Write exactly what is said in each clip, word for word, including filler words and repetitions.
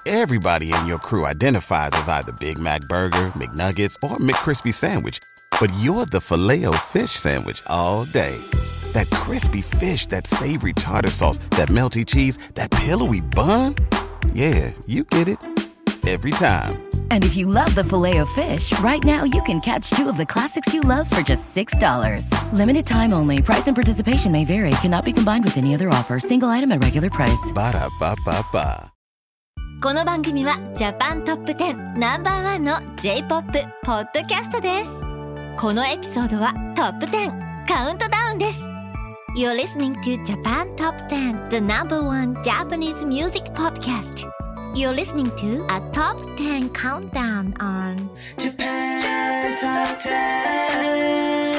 Everybody in your crew identifies as either Big Mac Burger, McNuggets, or McCrispy Sandwich. But you're the Filet-O-Fish Sandwich all day. That crispy fish, that savory tartar sauce, that melty cheese, that pillowy bun. Yeah, you get it. Every time. And if you love the Filet-O-Fish, right now you can catch two of the classics you love for just six dollars. Limited time only. Price and participation may vary. Cannot be combined with any other offer. Single item at regular price. Ba-da-ba-ba-ba. この番組はジャパントップテンナンバーワンの J-ポップ ポッドキャストです。このエピソードはトップテンカウントダウンです。You're listening to Japan Top ten, the number one Japanese music podcast. You're listening to a Top ten countdown on Japan Top ten.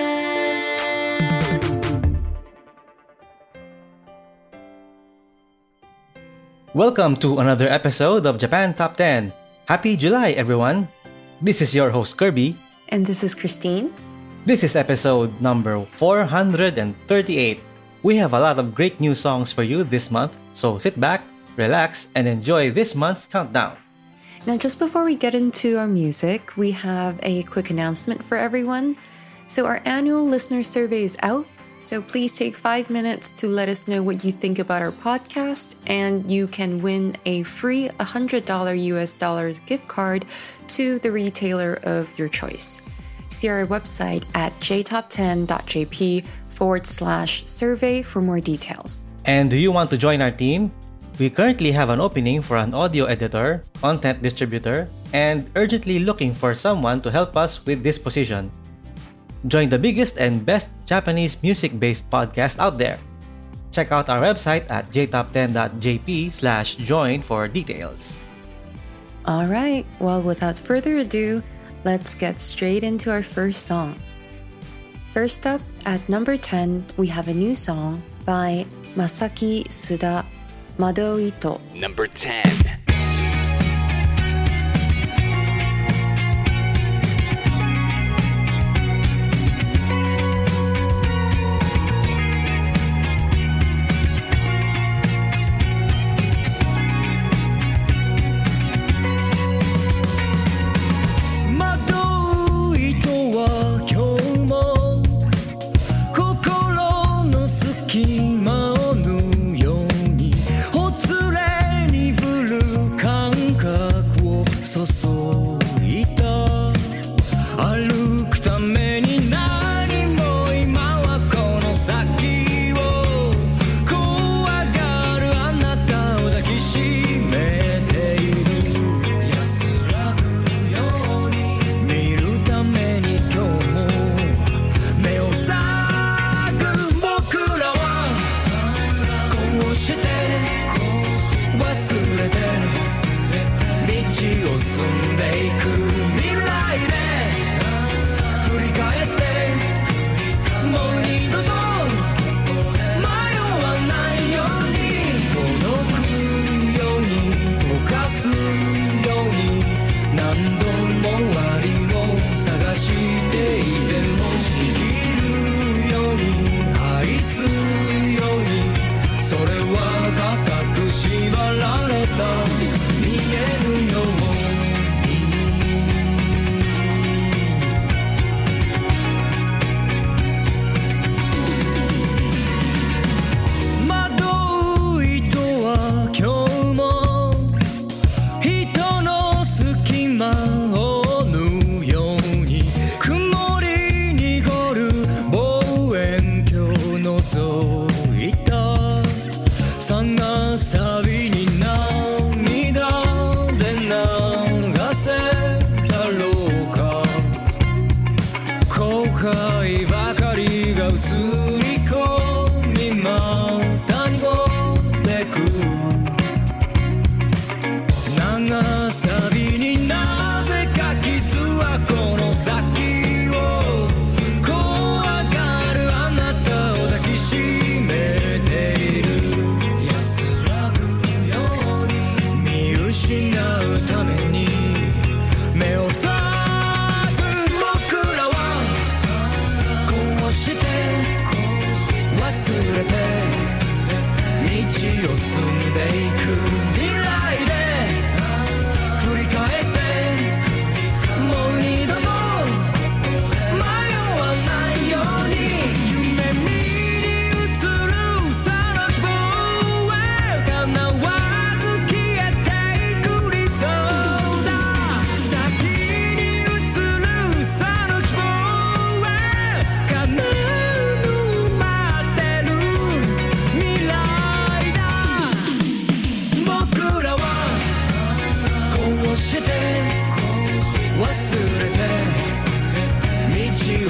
Welcome to another episode of Japan Top ten. Happy July, everyone. This is your host, Kirby. And this is Christine. This is episode number four hundred thirty-eight. We have a lot of great new songs for you this month, so sit back, relax, and enjoy this month's countdown. Now, just before we get into our music, we have a quick announcement for everyone. So our annual listener survey is out. So please take five minutes to let us know what you think about our podcast, and you can win a free one hundred dollars U S dollars gift card to the retailer of your choice. See our website at j top ten dot j p forward slash survey for more details. And do you want to join our team? We currently have an opening for an audio editor, content distributor, and urgently looking for someone to help us with this position. Join the biggest and best Japanese music-based podcast out there. Check out our website at j top ten dot j p slash join for details. All right, well, without further ado, let's get straight into our first song. First up, at number ten, we have a new song by Masaki Suda, Mado Ito. Number ten. 隙間を縫うようにほつれに降る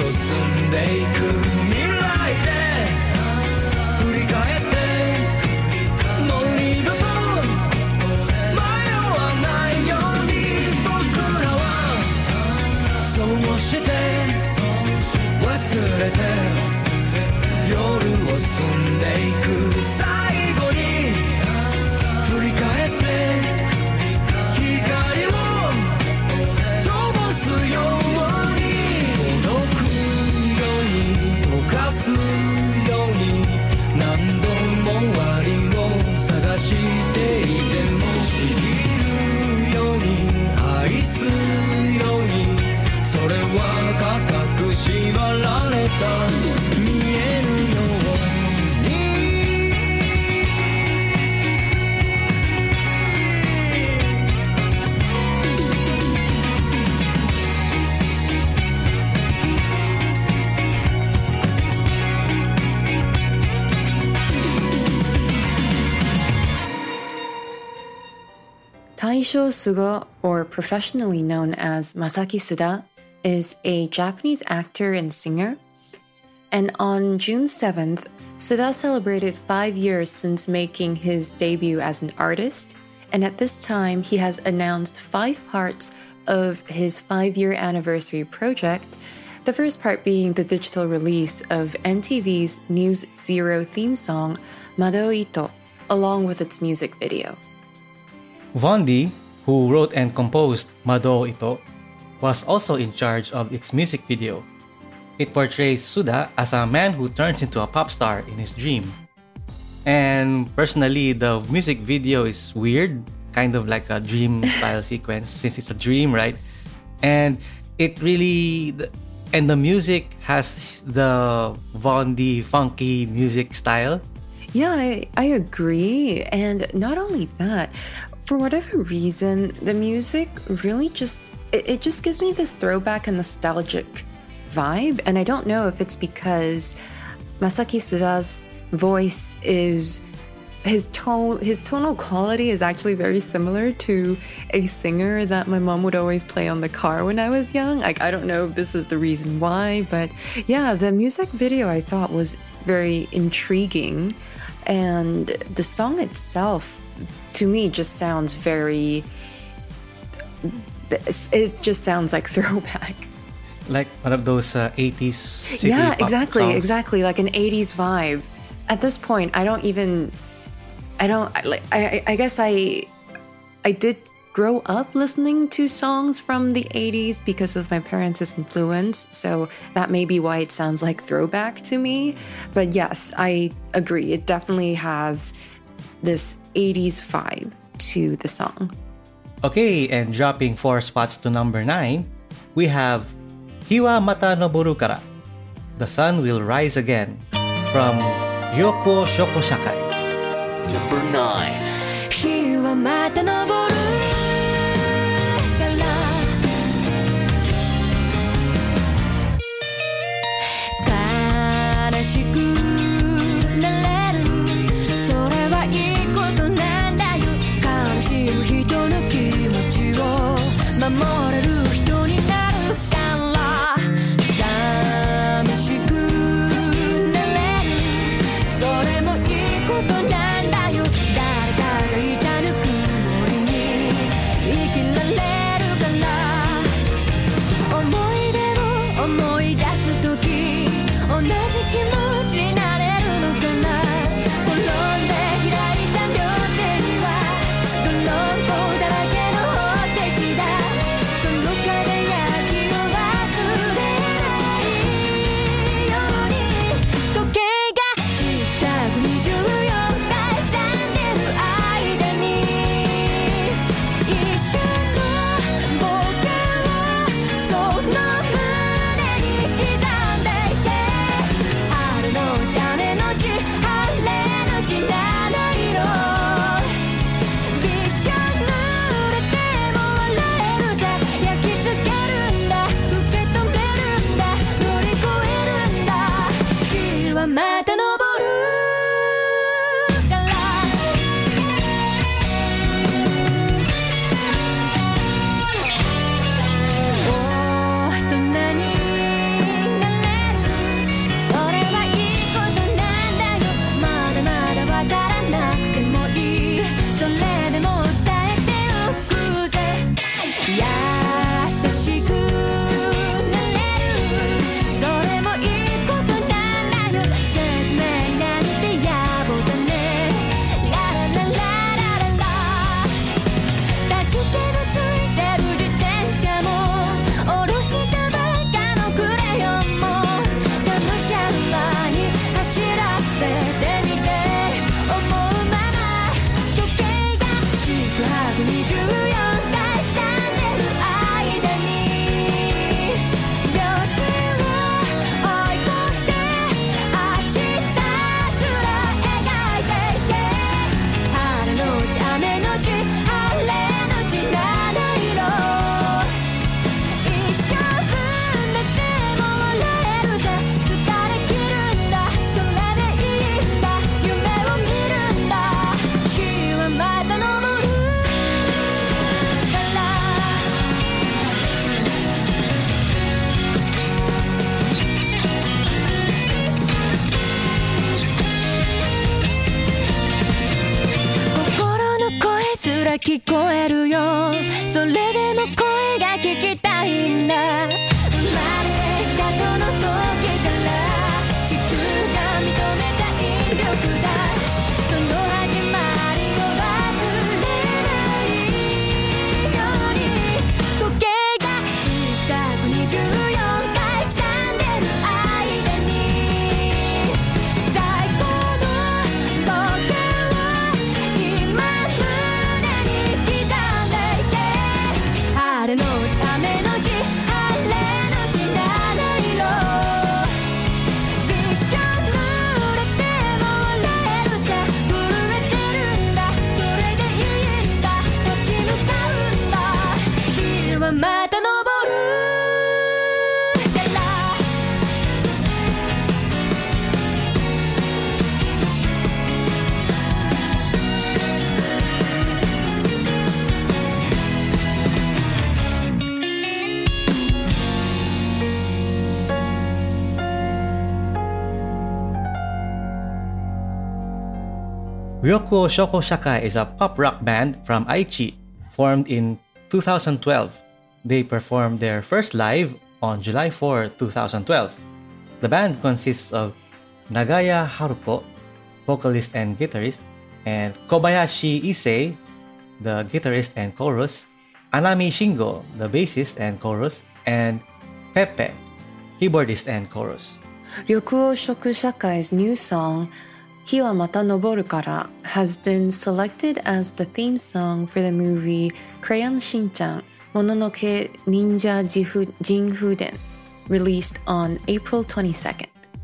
進んでいく未来で振り返ってもう二度と迷わないように僕らはそうして忘れて夜を過んでいく最後に振り返って光を灯すように届くように溶かすように何度も終わりを探していてもちぎるように愛すようにそれは固く縛られた見えぬよう Taisho Suga, or professionally known as Masaki Suda, is a Japanese actor and singer. And on June seventh, Suda celebrated five years since making his debut as an artist. And at this time, he has announced five parts of his five-year anniversary project. The first part being the digital release of N T V's News Zero theme song, Mado Ito, along with its music video. Vondi, who wrote and composed Mado Ito, was also in charge of its music video. It portrays Suda as a man who turns into a pop star in his dream. And personally, the music video is weird, kind of like a dream style sequence since it's a dream, right? And it really, and the music has the Vondi funky music style. Yeah, I, I agree. And not only that, for whatever reason, the music really just, it, it just gives me this throwback and nostalgic vibe. And I don't know if it's because Masaki Suda's voice is, his tone, his tonal quality is actually very similar to a singer that my mom would always play on the car when I was young. Like, I don't know if this is the reason why, but yeah, the music video I thought was very intriguing. And the song itself, to me, just sounds very, it just sounds like throwback. Like one of those uh, eighties city yeah, pop exactly, songs. exactly, like an eighties vibe. At this point, I don't even, I don't, like, I, I guess I, I did grow up listening to songs from the eighties because of my parents' influence, so that may be why it sounds like throwback to me. But yes, I agree, it definitely has this eighties vibe to the song. Okay, and dropping four spots to number nine, we have Hiwa Mata Noboru Kara, The Sun Will Rise Again, from Ryoko Shoko Shakai. Number nine. Hiwa mata noboru kara karashiku nareru sore wa ii koto nan da yo karashimu hito no kimochi wo mamoreru hito ni naru kara samishiku nareru sore mo ii koto nan da yo dareka ga itanuku mori ni 白にじゅうよんかい刻んでる間に秒針を追い越して明日すら描いていけ晴れのち雨のち晴れのち七色一生分だっても笑えるぜ疲れ切るんだそれでいいんだ夢を見るんだ日はまた昇るから心の声すら聞こえるよそれでも声が聞きたいんだ生まれてきたその時から地球が認めた引力だその始まりを忘れないように時計がチクタクにじゅうよんかい刻んでる間に最高の冒険を今胸に刻んでいけ晴れのち雨のち晴れのち七色びっしょ濡れても笑えるさ震えてるんだそれでいいんだ立ち向かうんだ日はまた昇るから Ryokuo Shoko Shakai is a pop rock band from Aichi, formed in two thousand twelve. They performed their first live on July fourth, twenty twelve. The band consists of Nagaya Haruko, vocalist and guitarist, and Kobayashi Issei, the guitarist and chorus, Anami Shingo, the bassist and chorus, and Pepe, keyboardist and chorus. Ryokuo Shoku Shakai's new song, Hiwa Mata Noboru Kara, has been selected as the theme song for the movie Crayon Shin-chan Mononoke Ninja Jifu- Jinfuden, released on April twenty-second.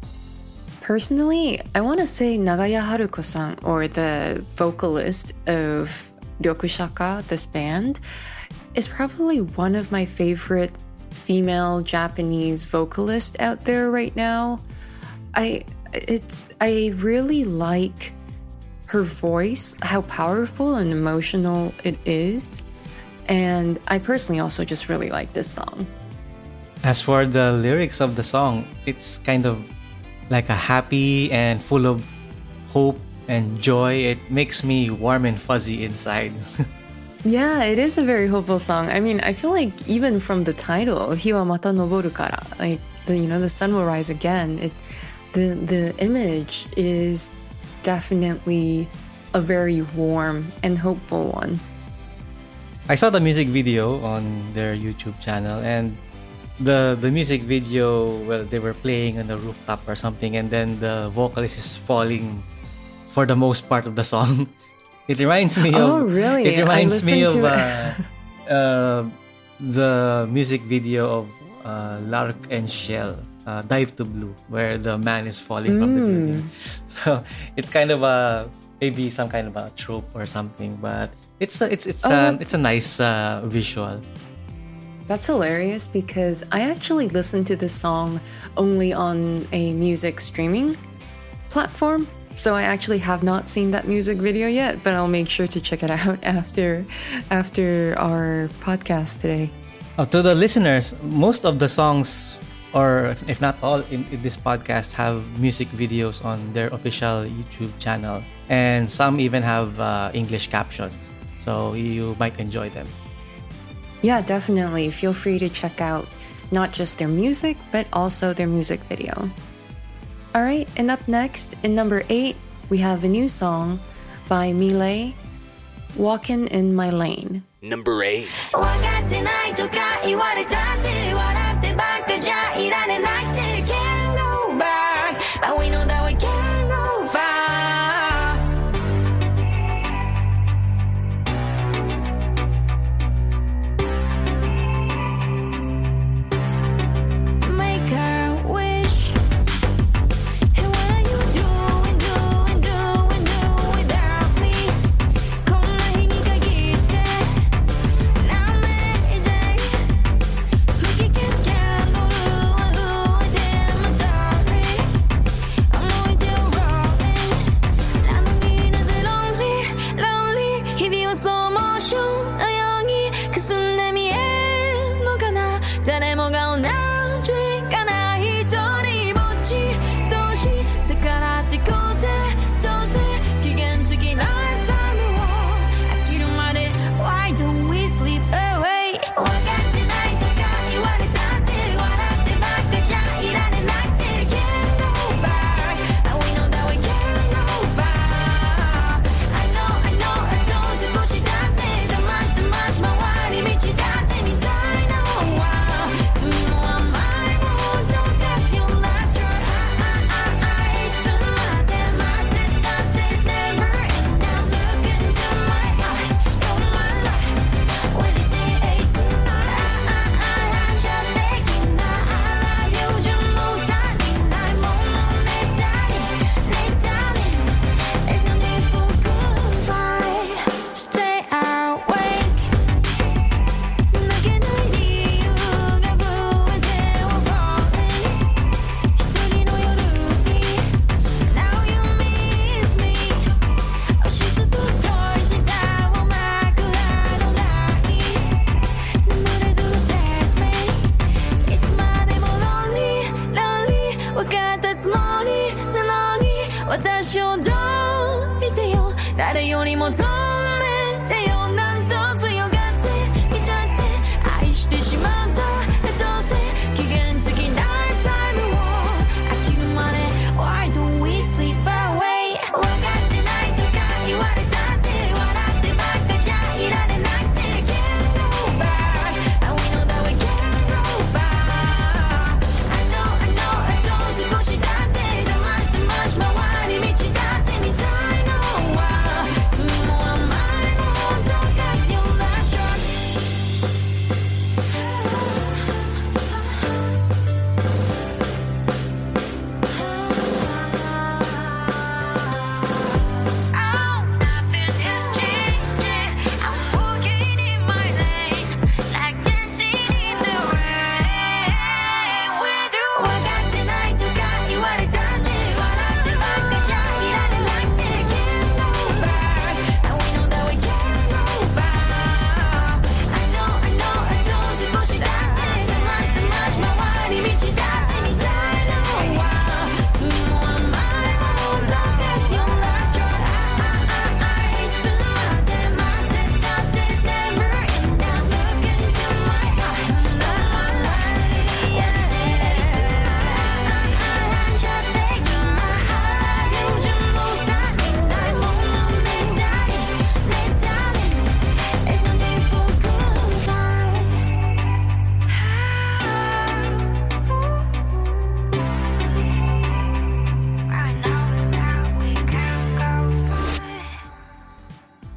Personally, I want to say Nagaya Haruko-san, or the vocalist of Ryoku Shaka, this band, is probably one of my favorite female Japanese vocalists out there right now. I it's I really like her voice, how powerful and emotional it is, and I personally also just really like this song. As for the lyrics of the song, it's kind of like a happy and full of hope and joy. It makes me warm and fuzzy inside. Yeah, it is a very hopeful song. I mean, I feel like even from the title, Hiwa Mata Noboru Kara, like the, you know, the sun will rise again. It the the image is definitely a very warm and hopeful one. I saw the music video on their YouTube channel, and the the music video, well, they were playing on the rooftop or something, and then the vocalist is falling for the most part of the song. It reminds me of Oh, really? It reminds I me of listened to uh, uh, the music video of uh, Lark and Shell, uh, Dive to Blue, where the man is falling from the building. So it's kind of a maybe some kind of a trope or something, but it's a, it's it's Oh, a, that- it's a nice uh, visual. That's hilarious because I actually listened to this song only on a music streaming platform. So I actually have not seen that music video yet, but I'll make sure to check it out after after our podcast today. Uh, to the listeners, most of the songs, or if, if not all, in, in this podcast have music videos on their official YouTube channel, and some even have uh, English captions, so you might enjoy them. Yeah, definitely. Feel free to check out not just their music, but also their music video. All right, and up next, in number eight, we have a new song by Millet, Walkin' in My Lane. Number eight. 分かってないとか言われたって笑ってばっかじゃいられないって Can't go back But we know that we can't go far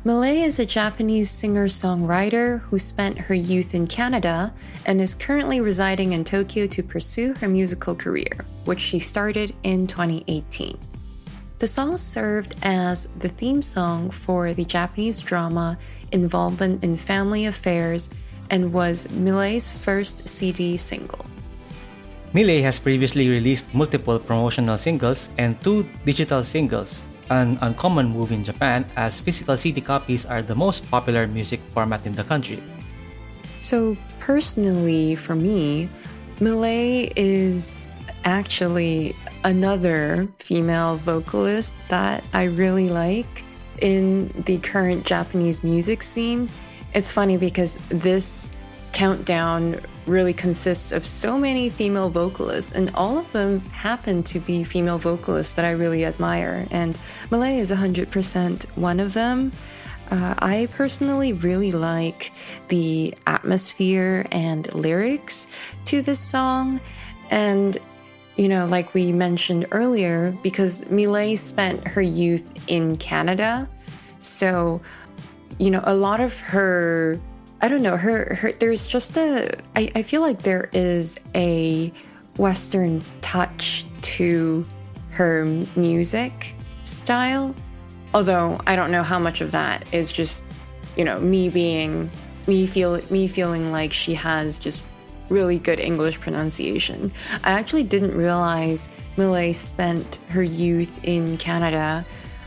Miley is a Japanese singer-songwriter who spent her youth in Canada and is currently residing in Tokyo to pursue her musical career, which she started in twenty eighteen. The song served as the theme song for the Japanese drama Involvement in Family Affairs and was Miley's first C D single. Miley has previously released multiple promotional singles and two digital singles, an uncommon move in Japan as physical C D copies are the most popular music format in the country. So personally, for me, Miley is actually another female vocalist that I really like in the current Japanese music scene. It's funny because this countdown really consists of so many female vocalists, and all of them happen to be female vocalists that I really admire, and Miley is one hundred percent one of them. Uh, I personally really like the atmosphere and lyrics to this song, and you know, like we mentioned earlier, because Miley spent her youth in Canada, so, you know, a lot of her, I don't know, her, her there's just a, I, I feel like there is a Western touch to her music style, although I don't know how much of that is just, you know, me being, me feel, me feeling like she has just really good English pronunciation. I actually didn't realize Miley spent her youth in Canada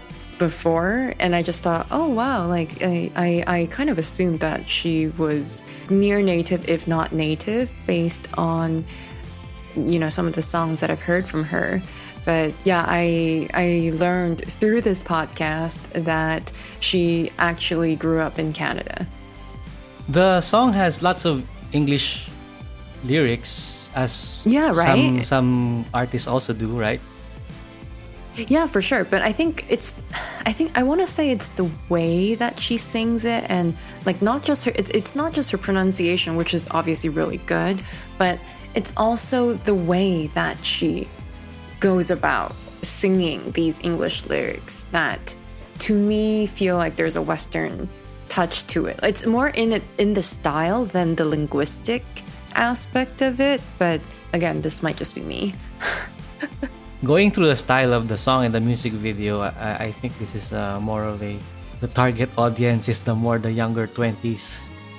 before, and I just thought, oh wow, like I, I, I kind of assumed that she was near native, if not native, based on, you know, some of the songs that I've heard from her. But yeah, I I learned through this podcast that she actually grew up in Canada. The song has lots of English lyrics, as yeah, right? some some artists also do, right? Yeah, for sure. But I think it's, I think I want to say it's the way that she sings it, and like not just her, it, it's not just her pronunciation, which is obviously really good, but it's also the way that she goes about singing these English lyrics that to me feel like there's a Western touch to it. It's more in it in the style than the linguistic aspect of it, but again, this might just be me. Going through the style of the song and the music video, I, I think this is uh, more of a, the target audience is the more the younger twenties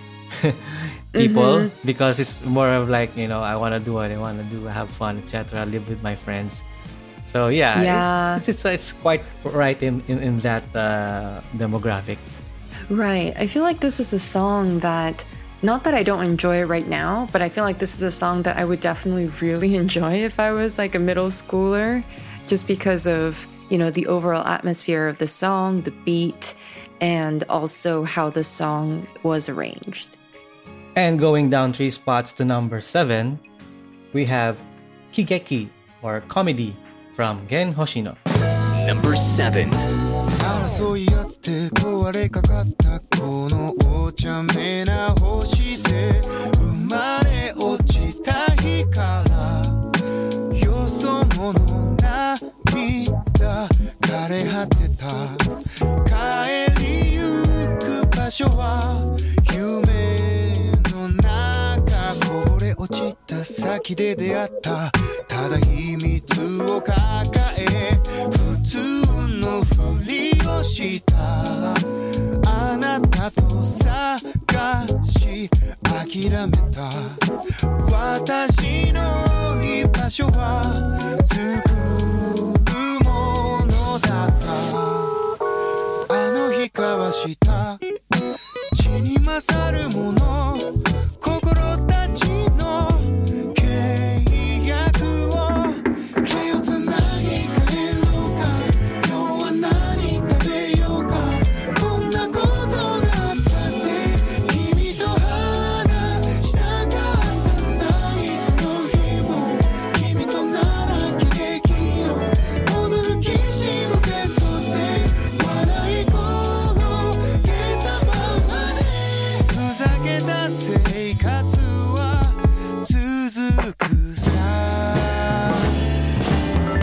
people, mm-hmm. because it's more of like, you know, I want to do what I want to do, have fun, et cetera, live with my friends. So yeah, yeah. It's, it's, it's quite right in, in, in that uh, demographic. Right. I feel like this is a song that, not that I don't enjoy it right now, but I feel like this is a song that I would definitely really enjoy if I was like a middle schooler, just because of, you know, the overall atmosphere of the song, the beat, and also how the song was arranged. And going down three spots to number seven, we have Higeki, or Comedy, from Gen Hoshino. Number seven. 争い合って壊れかかったこのお茶目な星で生まれ落ちた日からよそ者涙枯れ果てた帰りゆく場所は夢の中こぼれ落ちた先で出会ったただ秘密を抱え普通のふりをしたあなたと探し諦めた私の居場所は作るものだったあの日交わした血に勝るもの心たちの契約を手をつなぎ帰ろうか今日は何食べようかこんなことだったって君と話したかったんだいつの日も君となら喜劇を踊るキシムベッドで笑い転げたままでふざけた生活は続くさ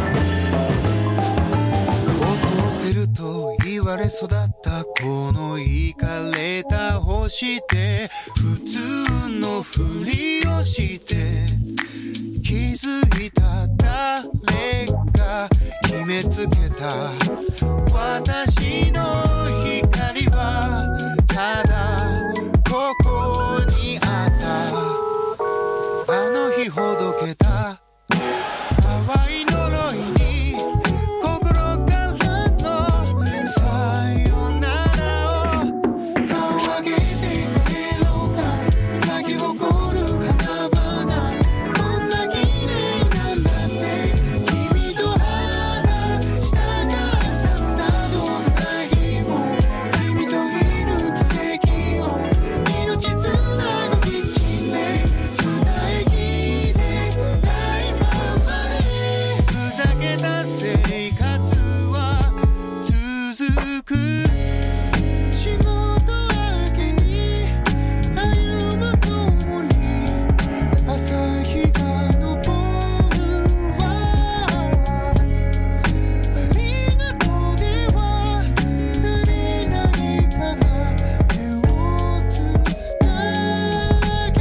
劣ってると言われ育ったこの家して普通のふりをして気づいた誰が決めつけた私の光はただここにあったあの日ほどけた淡い呪いに心からのさよならを顔上げて帰ろうか咲き誇る花々こんな綺麗なんだって君と話したかったんだどんな日も君といる奇跡を命つなぐキッチンで伝えきれないままでふざけた生活は続く仕事明けに歩む共に朝日が昇るわありがとうでは足りないかな手をつな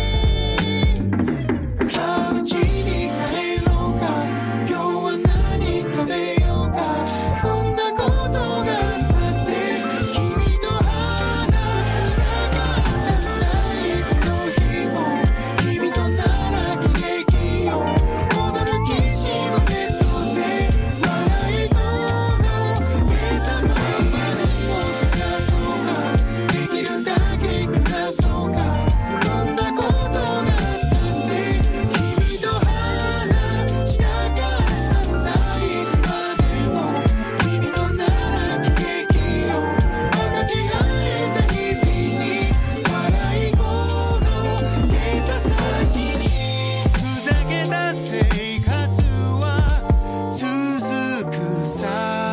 ぎさあうちに帰ろうか今日は何食べようかこんなことがあって君と話したかったんだいつの日も君となら喜劇よ踊るきしむベッドで笑い声出たままでも探そうかできるだけ暮らそうかこんなことがあったって君と話したかったんだいつまでも君となら喜劇よ分かち合えた日々に笑い声出た先にふざけた生活は続くさ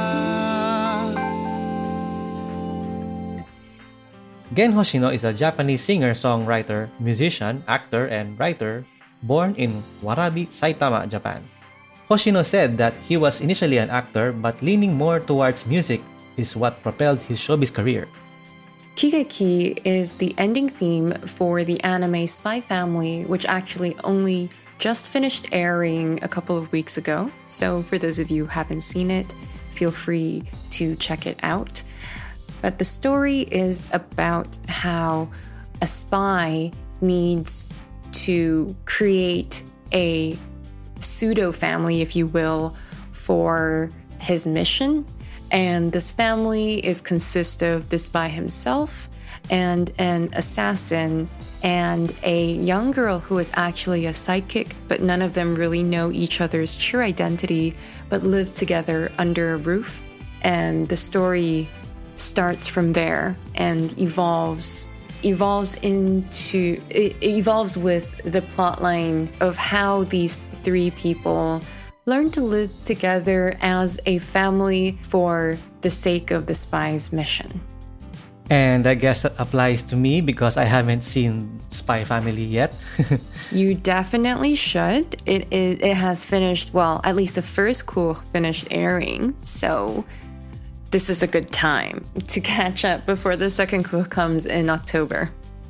Gen Hoshino is a Japanese singer, songwriter, musician, actor, and writer born in Warabi, Saitama, Japan. Hoshino said that he was initially an actor, but leaning more towards music is what propelled his showbiz career. Kigeki is the ending theme for the anime Spy Family, which actually only just finished airing a couple of weeks ago. So for those of you who haven't seen it, feel free to check it out. But the story is about how a spy needs to create a pseudo family, if you will, for his mission. And this family is consist of the spy himself and an assassin and a young girl who is actually a psychic, but none of them really know each other's true identity, but live together under a roof. And the story starts from there and evolves evolves into it evolves with the plotline of how these three people learn to live together as a family for the sake of the spy's mission. And I guess that applies to me because I haven't seen Spy Family yet. You definitely should. It, it it has finished, well, at least the first cour finished airing, so this is a good time to catch up before the second cour comes in October.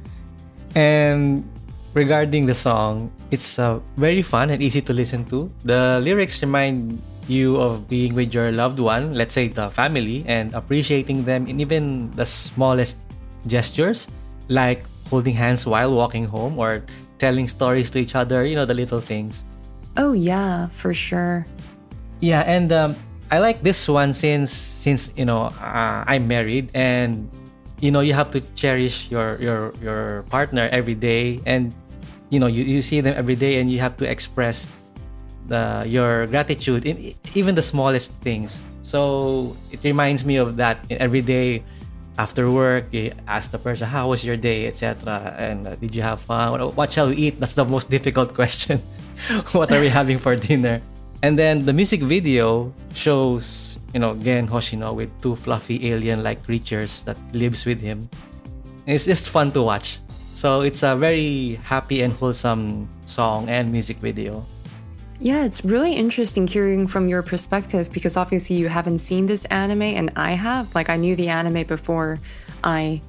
And regarding the song, it's uh, very fun and easy to listen to. The lyrics remind you of being with your loved one, let's say the family, and appreciating them in even the smallest gestures, like holding hands while walking home or telling stories to each other, you know, the little things. Oh yeah, for sure. Yeah, and um, I like this one since, since you know, uh, I'm married and, you know, you have to cherish your, your, your partner every day and, you know, you, you see them every day and you have to express the, your gratitude in even the smallest things. So it reminds me of that every day after work. You ask the person, how was your day, et cetera. And uh, did you have fun? What, what shall we eat? That's the most difficult question. What are we having for dinner? And then the music video shows, you know, Gen Hoshino with two fluffy alien-like creatures that lives with him. It's just fun to watch. So it's a very happy and wholesome song and music video. Yeah, it's really interesting hearing from your perspective because obviously you haven't seen this anime and I have. Like, I knew the anime before I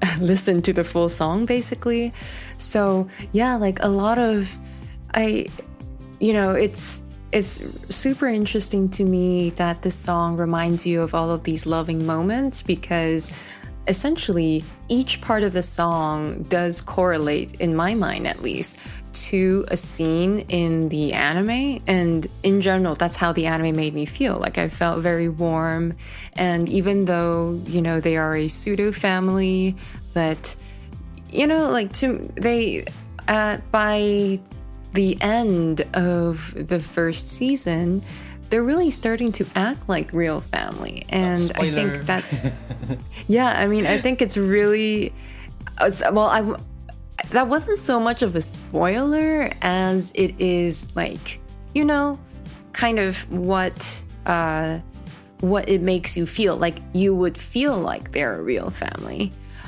listen to the full song basically. So yeah, like a lot of I you know it's it's super interesting to me that this song reminds you of all of these loving moments, because essentially each part of the song does correlate, in my mind at least, to a scene in the anime. And in general, that's how the anime made me feel. Like I felt very warm. And even though, you know, they are a pseudo family, but, you know, like to they uh, by the end of the first season, they're really starting to act like real family. And oh, I think that's yeah, I mean, I think it's really well, I that wasn't so much of a spoiler as it is like, you know, kind of what uh, what it makes you feel. Like you would feel like they're a real family.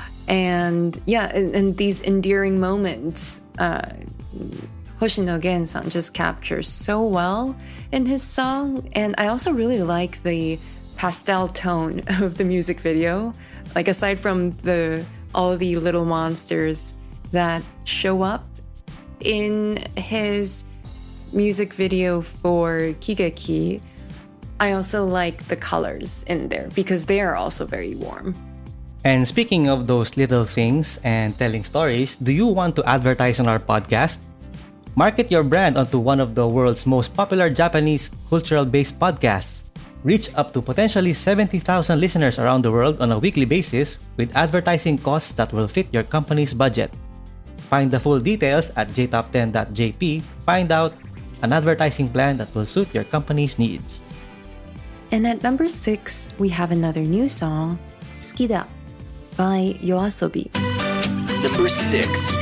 And yeah, and, and these endearing moments, uh, Hoshino Gen-san just captures so well in his song. And I also really like the pastel tone of the music video. Like aside from the all the little monsters that show up in his music video for Kigeki, I also like the colors in there because they are also very warm. And speaking of those little things and telling stories, do you want to advertise on our podcast? Market your brand onto one of the world's most popular Japanese cultural-based podcasts. Reach up to potentially seventy thousand listeners around the world on a weekly basis with advertising costs that will fit your company's budget. Find the full details at j top ten dot j p to find out an advertising plan that will suit your company's needs. And at number six, we have another new song, Skida by YOASOBI. Number six.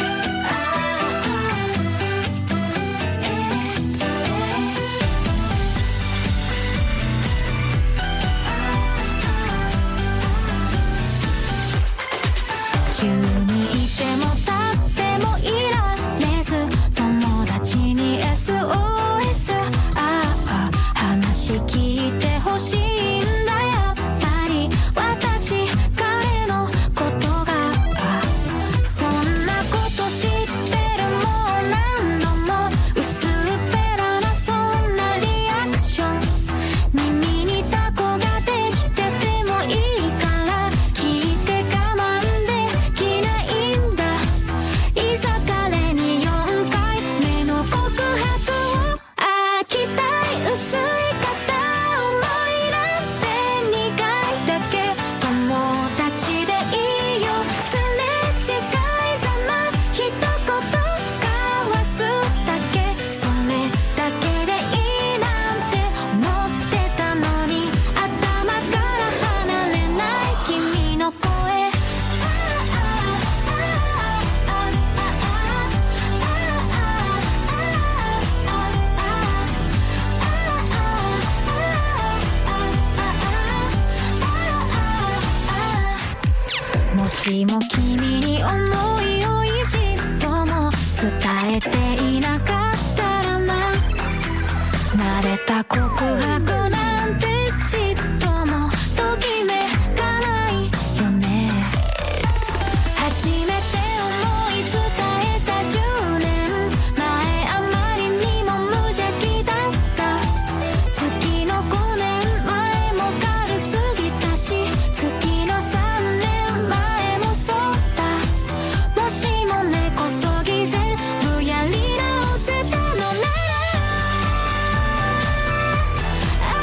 しも君に思いを一度も伝えていなかったらな慣れた告白なんてちっともときめかないよね初めて思い伝えたじゅうねんまえあまりにも無邪気だった月のごねんまえも軽すぎたし月のさんねんまえもそうだもしも根こそぎ全部やり直せたのならあ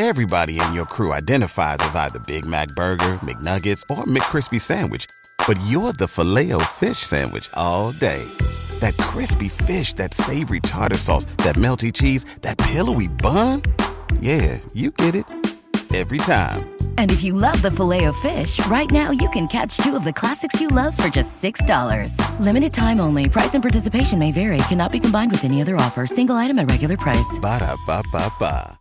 Everybody in your crew identifies as either Big Mac Burger, McNuggets, or McCrispy Sandwich. But you're the Filet-O-Fish Sandwich all day. That crispy fish, that savory tartar sauce, that melty cheese, that pillowy bun. Yeah, you get it. Every time. And if you love the Filet-O-Fish, right now you can catch two of the classics you love for just six dollars. Limited time only. Price and participation may vary. Cannot be combined with any other offer. Single item at regular price. Ba-da-ba-ba-ba.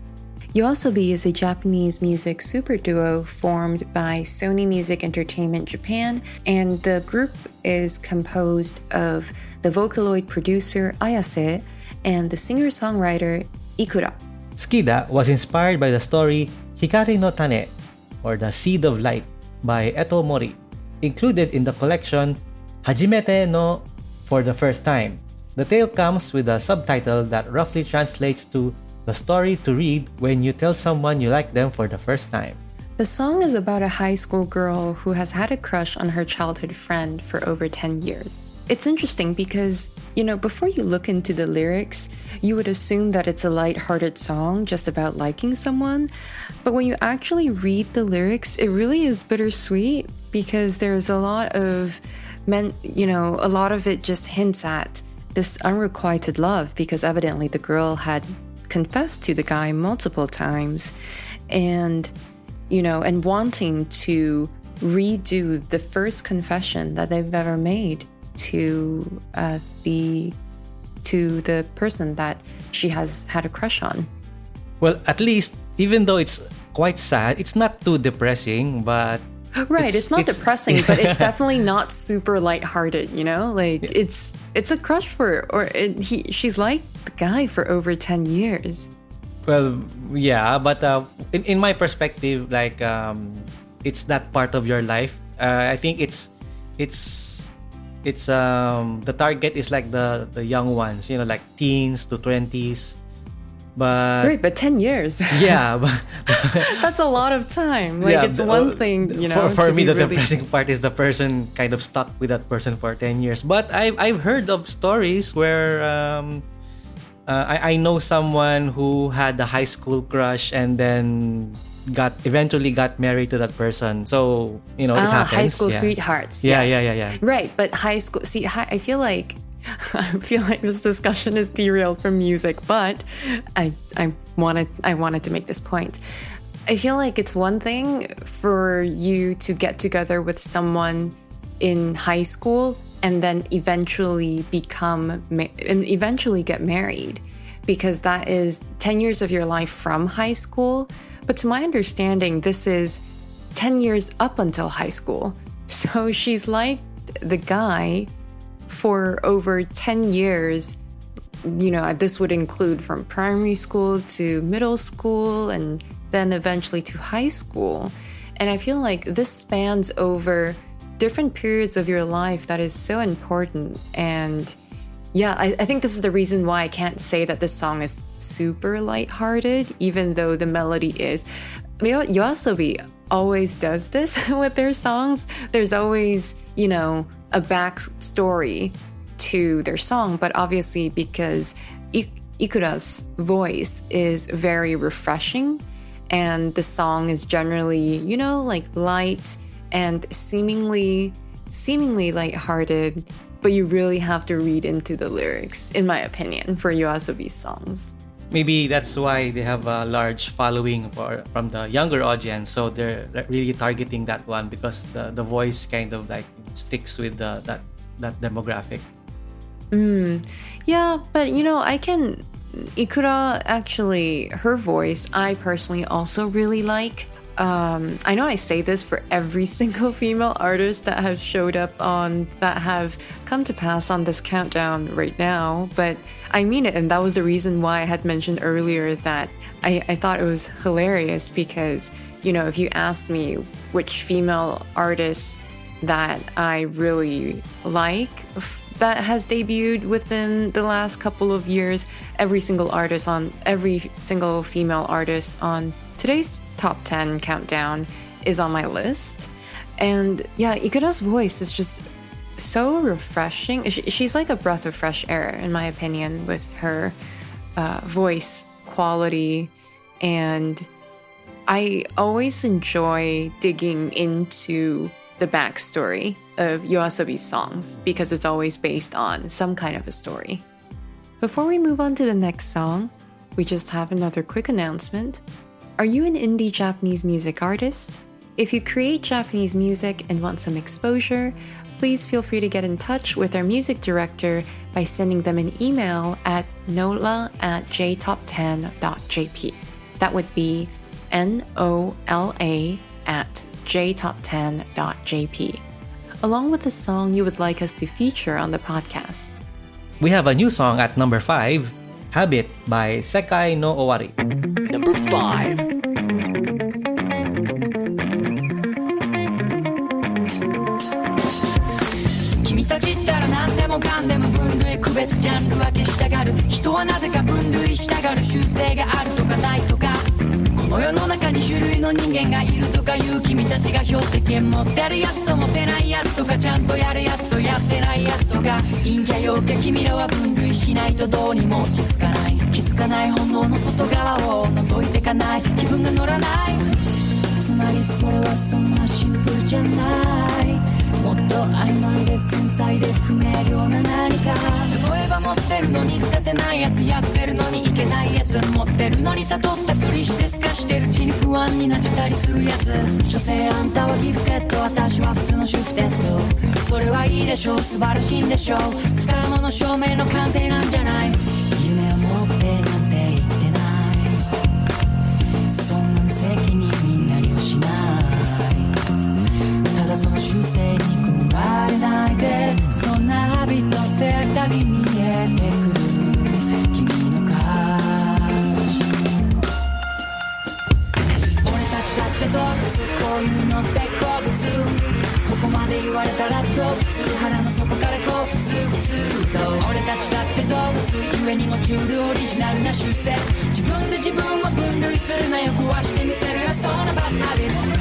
YOASOBI is a Japanese music super duo formed by Sony Music Entertainment Japan, and the group is composed of the Vocaloid producer Ayase and the singer-songwriter Ikura. Skida was inspired by the story Hikari no Tane, or The Seed of Light, by Eto Mori, included in the collection Hajimete no For the First Time. The tale comes with a subtitle that roughly translates to the story to read when you tell someone you like them for the first time. The song is about a high school girl who has had a crush on her childhood friend for over ten years. It's interesting because, you know, before you look into the lyrics, you would assume that it's a light-hearted song just about liking someone. But when you actually read the lyrics, it really is bittersweet because there's a lot of, men, you know, a lot of it just hints at this unrequited love because evidently the girl had confessed to the guy multiple times and, you know, and wanting to redo the first confession that they've ever made to uh, the to the person that she has had a crush on. Well, at least, even though it's quite sad, it's not too depressing, but right, it's, it's not it's, depressing, but it's definitely not super lighthearted, you know? Like, yeah. it's it's a crush for, or it, he she's like the guy for over ten years. Well, yeah, but uh, in, in my perspective, like, um, it's not part of your life. Uh, I think it's, it's, it's, um, the target is like the, the young ones, you know, like teens to twenties. But right, but ten years. Yeah, but, that's a lot of time. Like, yeah, it's one uh, thing, you know. For, for me, the really... depressing part is the person kind of stuck with that person for ten years. But I've I've heard of stories where um, uh, I I know someone who had a high school crush and then got eventually got married to that person. So you know, ah, it happens. High school yeah. sweethearts. Yeah, yes. yeah, yeah, yeah. Right, but high school. See, I feel like. I feel like this discussion is derailed from music, but I I wanted I wanted to make this point. I feel like it's one thing for you to get together with someone in high school and then eventually become and eventually get married, because that is ten years of your life from high school. But to my understanding, this is ten years up until high school. So she's like the guy for over ten years, you know, this would include from primary school to middle school and then eventually to high school. And I feel like this spans over different periods of your life that is so important. And yeah, I, I think this is the reason why I can't say that this song is super lighthearted, even though the melody is. YOASOBI always does this with their songs. There's always, you know, a backstory to their song, but obviously because I- Ikura's voice is very refreshing and the song is generally, you know, like light and seemingly seemingly lighthearted, but you really have to read into the lyrics, in my opinion, for YOASOBI's songs. Maybe that's why they have a large following for from the younger audience. So they're really targeting that one because the, the voice kind of like sticks with the, that that demographic. Mm, yeah, but you know, I can... Ikura, actually, her voice, I personally also really like. Um, I know I say this for every single female artist that has showed up on, that have come to pass on this countdown right now, but I mean it, and that was the reason why I had mentioned earlier that I, I thought it was hilarious because, you know, if you asked me which female artist that I really like that has debuted within the last couple of years, every single artist on, every single female artist on today's top ten countdown is on my list. And yeah, Ikura's voice is just so refreshing. She's like a breath of fresh air, in my opinion, with her uh, voice quality and I always enjoy digging into the backstory of YOASOBI's songs because it's always based on some kind of a story. Before we move on to the next song, we just have another quick announcement. Are you an indie Japanese music artist? If you create Japanese music and want some exposure, please feel free to get in touch with our music director by sending them an email at nola at j top ten dot j p. That would be N O L A at j top ten dot j p, along with the song you would like us to feature on the podcast. We have a new song at number five, Habit by Sekai no Owari. Number five. 君たちったら何でもかんでも分類区別ジャンル分けしたがる人はなぜか分類したがる習性があるとかないとかこの世の中に種類の人間がいるとかいう君たちが標的持ってるやつと持ってないやつとかちゃんとやるやつとやってないやつとか陰キャ陽キャ君らは分類しないとどうにも落ち着かない気づかない本能の外側を覗いてかない気分が乗らないつまりそれはそんなシンプルじゃないもっと曖昧で繊細で不明瞭な何か例えば持ってるのに出せないやつやってるのにいけないやつ持ってるのに悟ったふりして透かしてるうちに不安になっちゃったりするやつ所詮あんたはギフテッド私は普通の主婦テストそれはいいでしょう素晴らしいんでしょう不可能の証明の完成なんじゃない夢を持ってなんて言ってないそんな無責任になりはしないただその習性に食われないでそんなハビット捨てるたび見えてくる君の価値俺たちだって動物こういうのって好物ここまで言われたらどう普通腹の底からこう普通普通と俺たちだって動物ゆえにもチュールオリジナルな習性自分で自分を分類するなよ壊してみせるよそのバッハビット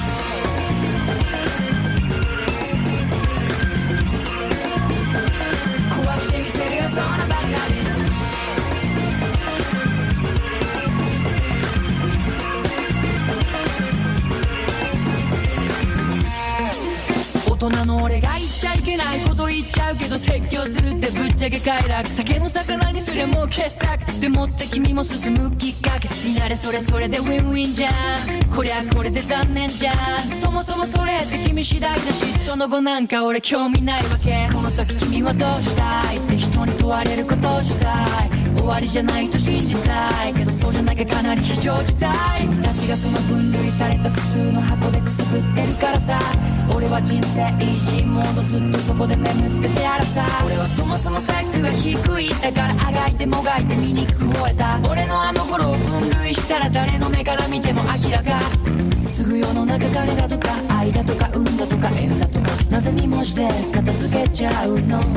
大人の俺が言っちゃいけないこと言っちゃうけど説教するってぶっちゃけ快楽酒の魚にすりゃもう傑作でもって君も進むきっかけみんなでそれそれでウィンウィンじゃんこりゃこれで残念じゃんそもそもそれって君次第だしその後なんか俺興味ないわけこの先君はどうしたいって人に問われることをしたい終わりじゃないと信じたいけどそうじゃなきゃかなり非常事態君たちがその分類された普通の箱でくすぶってるからさ俺は人生イージーモードずっとそこで眠っててやらさ俺はそもそもスペックが低いだからあがいてもがいて醜く吠えた俺のあの頃を分類したら誰の目から見ても明らかすぐ世の中彼だとか愛だとか運だとか縁だとかなぜにもして片付けちゃうの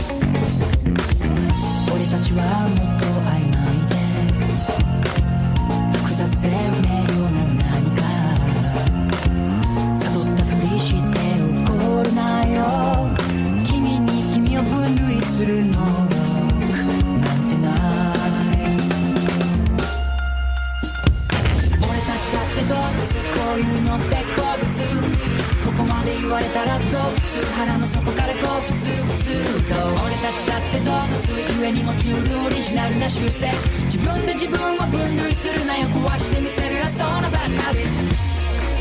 俺たちはもっと曖昧で複雑で不明瞭な何か悟ったふりして怒るなよ君に君を分類する能力なんてない俺たちだって動物こういうのって好物ここまで言われたらどう普通腹の底からこう普通普通と俺たちだって動物ゆえにもチュールオリジナルな習性自分で自分を分類するなよ壊してみせるよそのバッハビット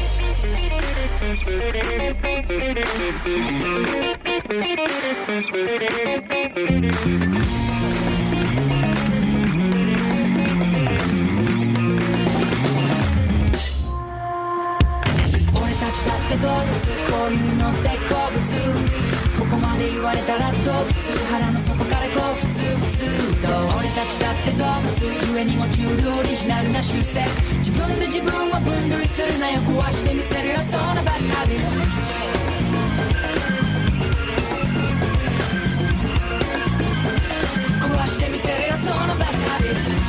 俺たちだって動物こういうのって好物ここまで言われたらどう普通腹の底からこう普通普通と俺たちだって動物ゆえにもチュールオリジナルな習性自分で自分を分類するなよ壊してみせるよそのバッハビット壊してみせるよそのバッハビット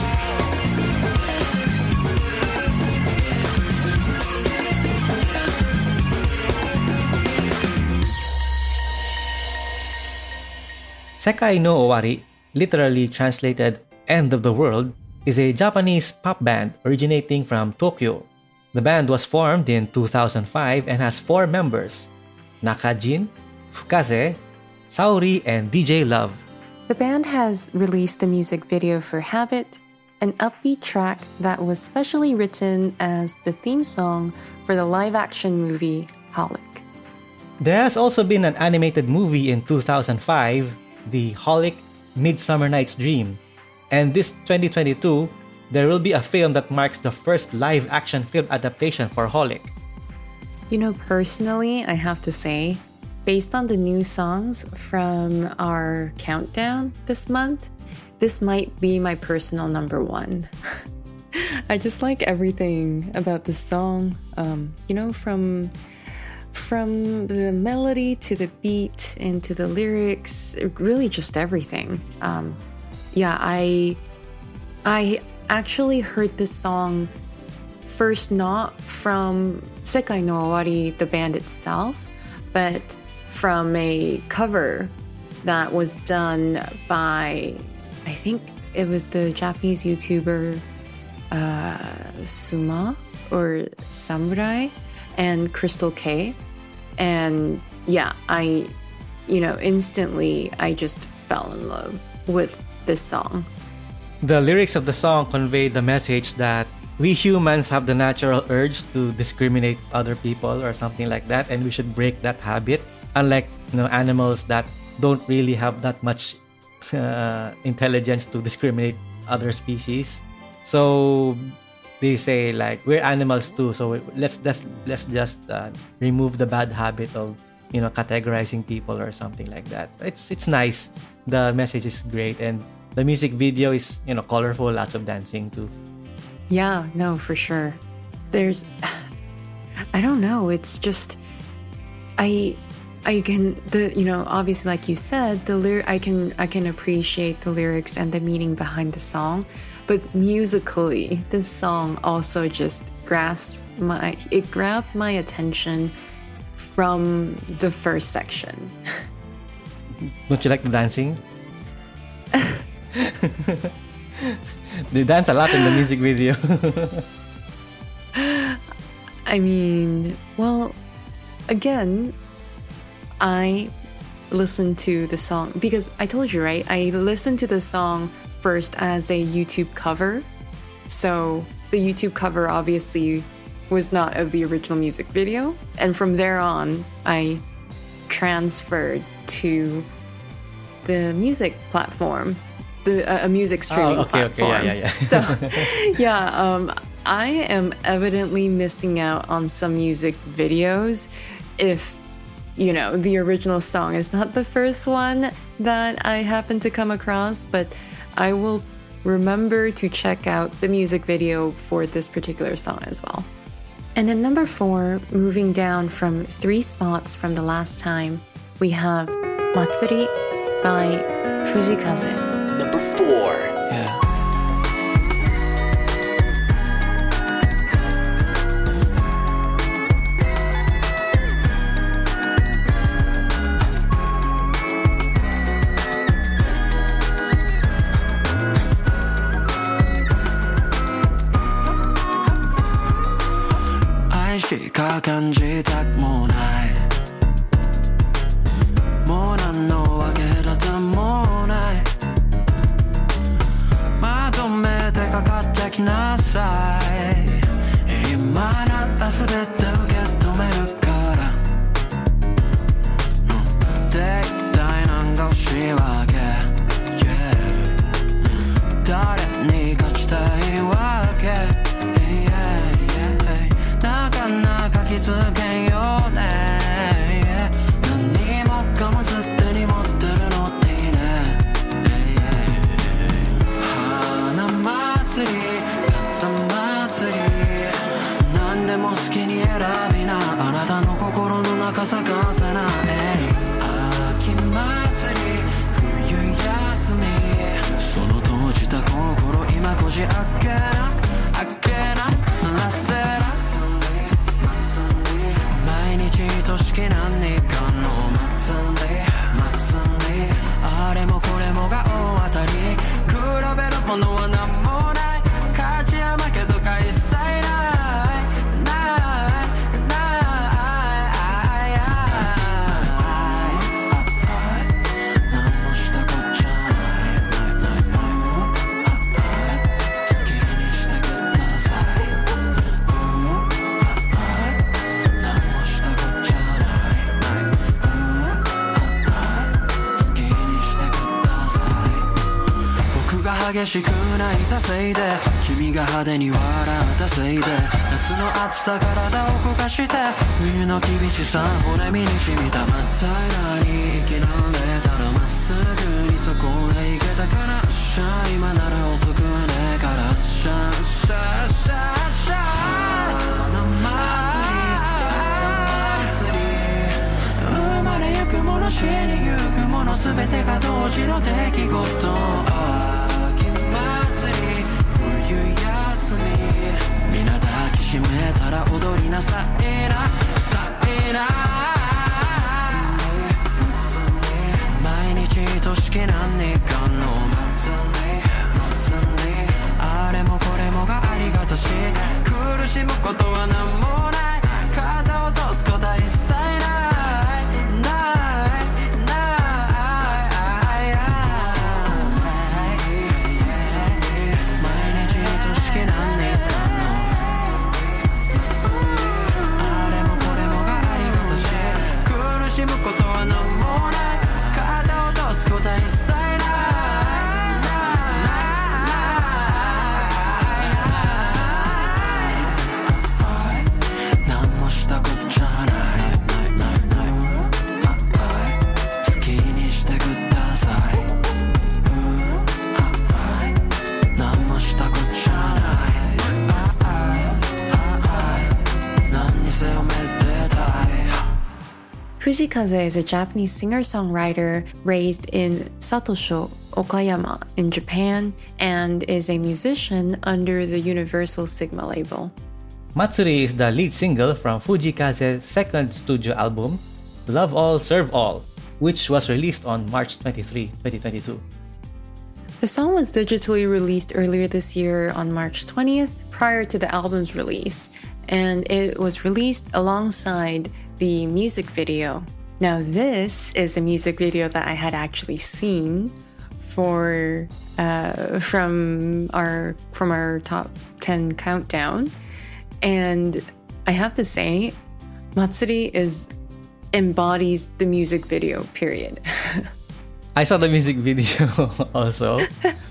Sekai no Owari, literally translated End of the World, is a Japanese pop band originating from Tokyo. The band was formed in two thousand five and has four members: Nakajin, Fukaze, Saori, and D J Love. The band has released the music video for Habit, an upbeat track that was specially written as the theme song for the live-action movie Holic. There has also been an animated movie in two thousand five, the Holic Midsummer Night's Dream. And this twenty twenty-two, there will be a film that marks the first live-action film adaptation for Holic. You know, personally, I have to say, based on the new songs from our countdown this month, this might be my personal number one. I just like everything about the song, um, you know, from from the melody to the beat and to the lyrics, really just everything. Um, yeah, I I actually heard this song first not from Sekai no Owari, the band itself, but from a cover that was done by, I think it was the Japanese YouTuber uh, Suma or Samurai and Crystal K. And yeah, I, you know, instantly I just fell in love with this song. The lyrics of the song convey the message that we humans have the natural urge to discriminate other people or something like that, and we should break that habit. Unlike, you know, animals that don't really have that much uh, intelligence to discriminate other species. So they say like we're animals too. So let's let's let's just uh, remove the bad habit of, you know, categorizing people or something like that. It's it's nice. The message is great, and the music video is, you know, colorful. Lots of dancing too. Yeah, no, for sure. There's, I don't know. It's just, I, I can the you know obviously like you said the lyric I can I can appreciate the lyrics and the meaning behind the song, but musically this song also just grasped my it grabbed my attention from the first section. Don't you like the dancing? They dance a lot in the music video. I mean, well, again, I listened to the song because I told you, right? I listened to the song first as a YouTube cover. So the YouTube cover obviously was not of the original music video. And from there on, I transferred to the music platform, the uh, a music streaming oh, okay, platform. Okay, yeah, yeah, yeah. So, yeah, um, I am evidently missing out on some music videos if, you know, the original song is not the first one that I happen to come across, but I will remember to check out the music video for this particular song as well. And at number four, moving down from three spots from the last time, we have Matsuri by Fujikaze. Number four. Yeah. しか感じたくもないもう何のわけだってもないまとめてかかってきなさい今なら全て受け止めるから、うん、で一体何が欲しいわけ、yeah、誰に勝ちたいわけなかなか気づけんよね、yeah、何もかもすでに持ってるのにね、yeah、花祭り夏祭り何でも好きに選びなあなたの心の中咲かせな、秋祭り冬休みその閉じた心今こじ開けな開けならせら毎日愛しき何かの祭り祭りあれもこれもが大当たり比べるものは何もない激しく泣いたせいで君が派手に笑ったせいで夏の暑さ体を焦がして冬の厳しさ骨身に染みた真っ平らに生きられたらまっすぐにそこへ行けたからしゃ今なら遅くはねえからしゃしゃしゃしゃ夏祭り生まれゆくもの死にゆくもの全てが同時の出来事秋祭り冬休み皆抱きしめたら踊りなさいなさいな毎日としき何日間の祭り祭りあれもこれもがありがたし苦しむことは何もない肩を落とすことは一切ないないない毎日としき何日間のあれもこれもがありがたし苦しむことは何もない肩を落とすことは一切ない何もしたこっちゃない好きにしてください何もしたこっちゃない何にせよめでたい Fujikaze is a Japanese singer-songwriter raised in Satosho, Okayama, in Japan, and is a musician under the Universal Sigma label. Matsuri is the lead single from Fujikaze's second studio album, Love All, Serve All, which was released on March twenty-third, twenty twenty-two. The song was digitally released earlier this year on March twentieth, prior to the album's release, and it was released alongside the music video. Now, this is a music video that I had actually seen for uh, from our from our top ten countdown, and I have to say, Matsuri is embodies the music video. Period. I saw the music video also.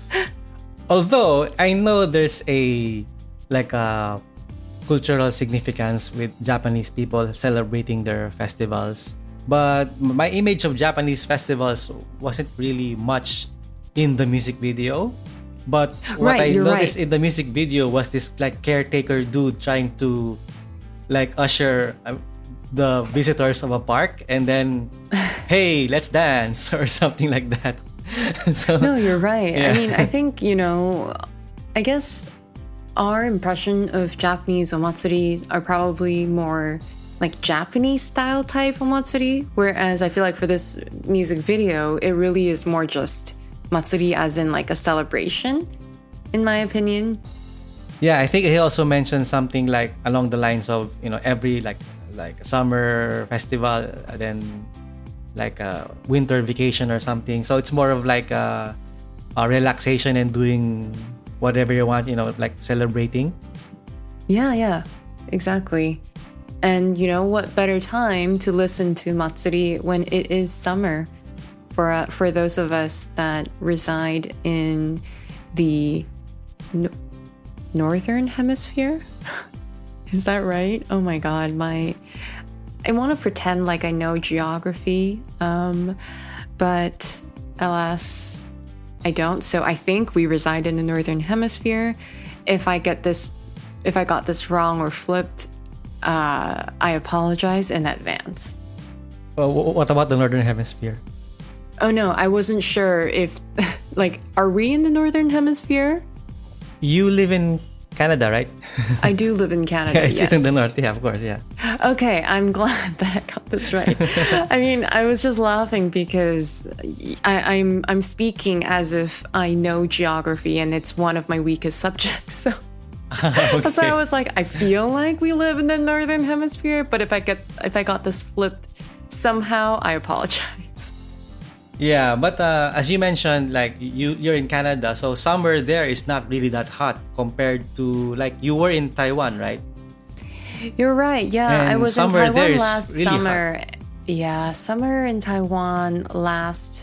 Although I know there's a like a cultural significance with Japanese people celebrating their festivals, but my image of Japanese festivals wasn't really much in the music video. But what Right, I you're noticed right. in the music video was this like caretaker dude trying to like usher uh, the visitors of a park and then hey, let's dance or something like that. So, No, you're right. Yeah. I mean, I think, you know, I guess our impression of Japanese omatsuris are probably more like Japanese style type omatsuri, whereas I feel like for this music video, it really is more just matsuri as in like a celebration, in my opinion. yeah, I think he also mentioned something like along the lines of, you know, every like like summer festival, uh, then like a winter vacation or something. So it's more of like a, a relaxation and doing whatever you want, you know, like celebrating. Yeah, yeah, exactly. And you know what better time to listen to Matsuri when it is summer for uh, for those of us that reside in the no- northern hemisphere? Is that right? Oh my god, my I want to pretend like I know geography, um, but alas, I don't. So I think we reside in the northern hemisphere. If I get this, if I got this wrong or flipped, uh, I apologize in advance. Well, wh- what about the northern hemisphere? Oh no, I wasn't sure if, like, are we in the northern hemisphere? You live in Canada, right? I do live in Canada. Yeah, it's yes. in the north. Yeah, of course. Yeah. Okay, I'm glad that I got this right. I mean, I was just laughing because I, I'm I'm speaking as if I know geography and it's one of my weakest subjects. So that's why I was like, I feel like we live in the northern hemisphere, but if I get if I got this flipped somehow, I apologize. Yeah, but uh, as you mentioned, like you you're in Canada, so summer there is not really that hot compared to like you were in Taiwan, right? You're right. Yeah, I And was in summer there Taiwan is last really summer. Yeah, summer in Taiwan last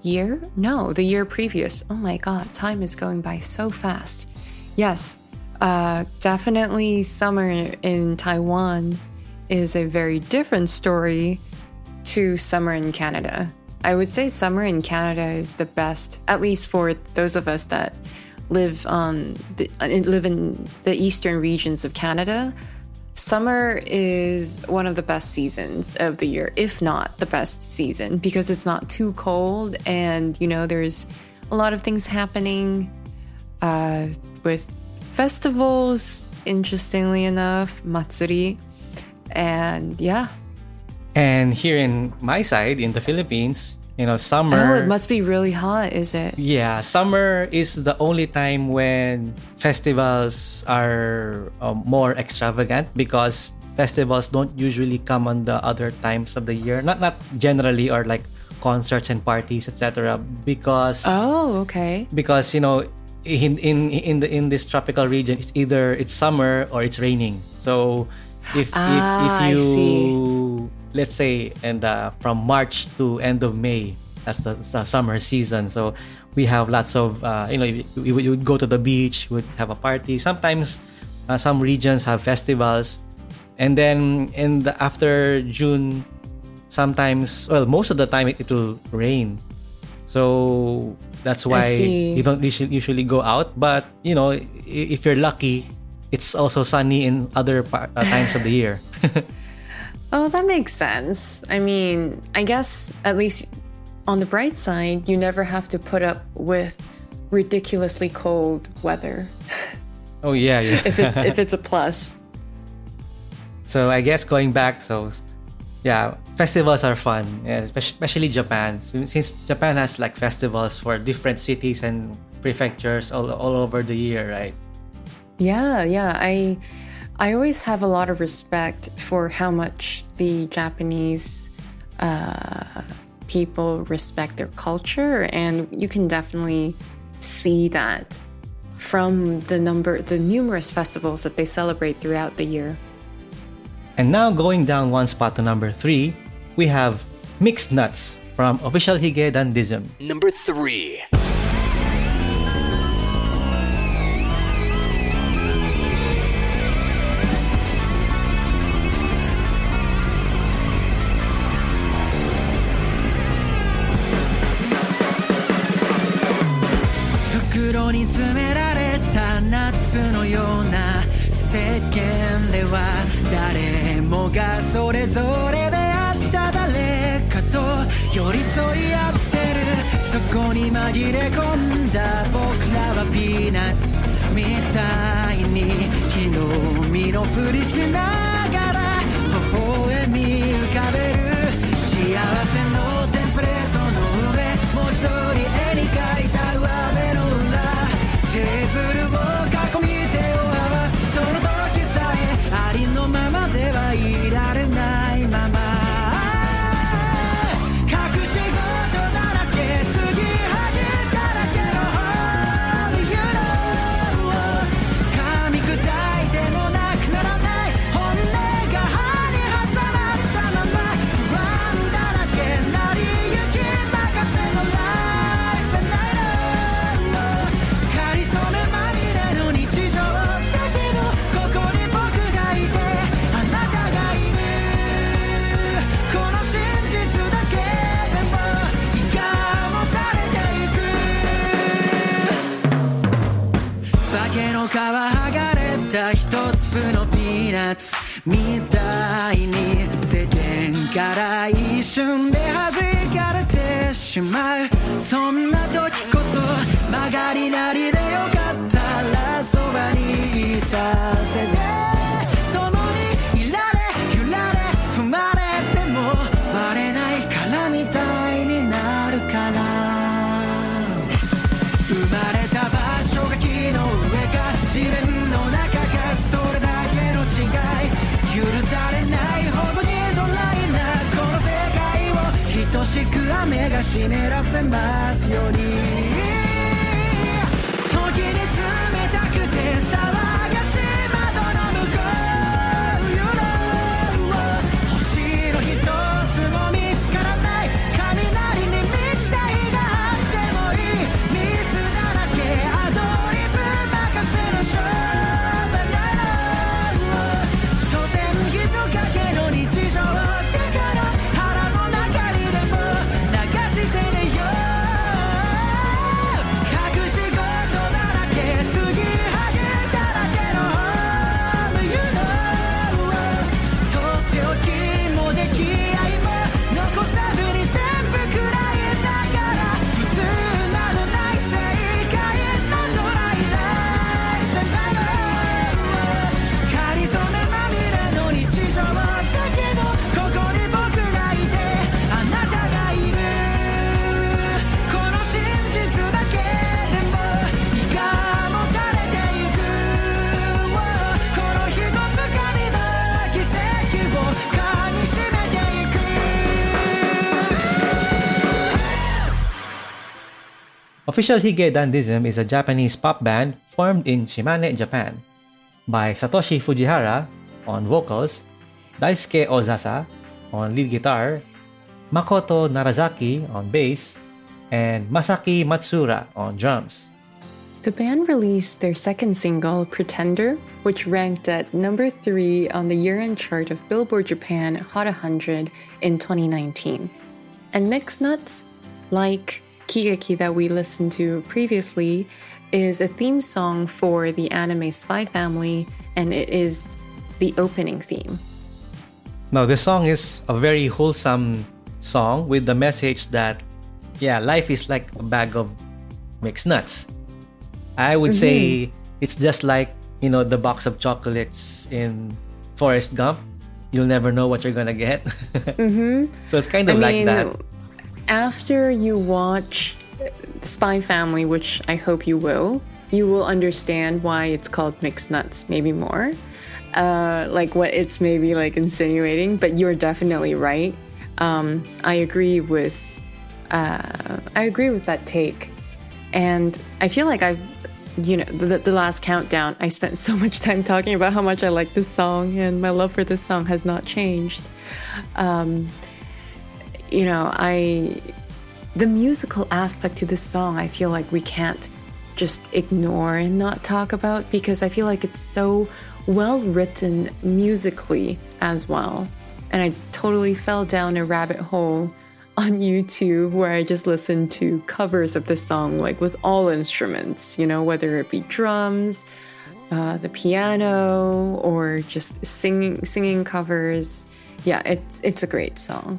year? No, the year previous. Oh my god, time is going by so fast. Yes, uh, definitely summer in Taiwan is a very different story to summer in Canada. I would say summer in Canada is the best, at least for those of us that live on the, live in the eastern regions of Canada. Summer is one of the best seasons of the year, if not the best season, because it's not too cold and, you know, there's a lot of things happening uh, with festivals, interestingly enough, matsuri, and yeah. And here in my side, in the Philippines, you know, summer... Oh, it must be really hot, is it? Yeah, summer is the only time when festivals are um, more extravagant because festivals don't usually come on the other times of the year. Not not generally, or like concerts and parties, et cetera. Because oh, okay. Because you know, in in in the in this tropical region, it's either it's summer or it's raining. So if ah, if if you I see. let's say, and uh, from March to end of May, that's the, the summer season. So we have lots of, uh, you know, we would, would go to the beach, would have a party. Sometimes uh, some regions have festivals. And then in the, after June, sometimes, well, most of the time it, it will rain. So that's why you don't usually, usually go out. But, you know, if you're lucky, it's also sunny in other par- uh, times of the year. Oh, that makes sense. I mean, I guess at least on the bright side, you never have to put up with ridiculously cold weather. Oh yeah, yeah. if it's if it's a plus. So I guess going back, so yeah, festivals are fun, yeah, especially Japan. Since Japan has like festivals for different cities and prefectures all all over the year, right? Yeah, yeah. I. I always have a lot of respect for how much the Japanese uh, people respect their culture, and you can definitely see that from the number, the numerous festivals that they celebrate throughout the year. And now going down one spot to number three, we have Mixed Nuts from Official Hige Dandism. Number three. 袋に詰められた夏のような世間では誰もがそれぞれであった誰かと寄り添い合ってるそこに紛れ込んだ僕らはピーナッツみたいに木の実のふりしながら微笑み浮かべる幸せのテンプレートの上文字通り絵に描いた上辺の裏テーブルを囲み手を合わすその時さえありのままではいられないまま隠し事だらけ継ぎはぎだらけの All you know 噛み砕いてもなくならない本音が歯に挟まったまま不安だらけなりゆき任せの Life and nightかりそめまみれの日常だけどここに僕がいてあなたがいるこの真実だけでも胃がもたれていく化けの皮剥がれた一粒のピーナッツみたいに世間から一瞬で弾かれてしまうそんな時こそ曲がりなりでよかったらそばにいさせて共にいられ揺られ踏まれてもバレないからみたいになるから生まれた場所が木の上か自分の中かそれだけの違い許されないほどにドライなこの世界を等しく雨が湿らせますように時に冷たくて騒がしい窓の向こう You know 星の一つも見つからない雷に満ちた日が Official Hige Dandism is a Japanese pop band formed in Shimane, Japan, by Satoshi Fujihara on vocals, Daisuke Ozasa on lead guitar, Makoto Narazaki on bass, and Masaki Matsura on drums. The band released their second single, Pretender, which ranked at number three on the year-end chart of Billboard Japan Hot one hundred in twenty nineteen. And Mixed Nuts, like Kigeki that we listened to previously, is a theme song for the anime Spy Family, and it is the opening theme. Now, this song is a very wholesome song with the message that, yeah, life is like a bag of mixed nuts. I would mm-hmm. say it's just like, you know, the box of chocolates in Forrest Gump. You'll never know what you're gonna get. mm-hmm. So it's kind of I like mean, that. After you watch Spy Family, which I hope you will, you will understand why it's called Mixed Nuts, maybe more. Uh, like what it's maybe like insinuating, but you're definitely right. Um, I agree with uh, I agree with that take. And I feel like I've, you know, the, the last countdown, I spent so much time talking about how much I like this song, and my love for this song has not changed. Um, you know, I, the musical aspect to this song, I feel like we can't just ignore and not talk about, because I feel like it's so well written musically as well. And I totally fell down a rabbit hole on YouTube where I just listened to covers of the song, like with all instruments, you know, whether it be drums, uh, the piano, or just singing singing covers. Yeah, it's it's a great song.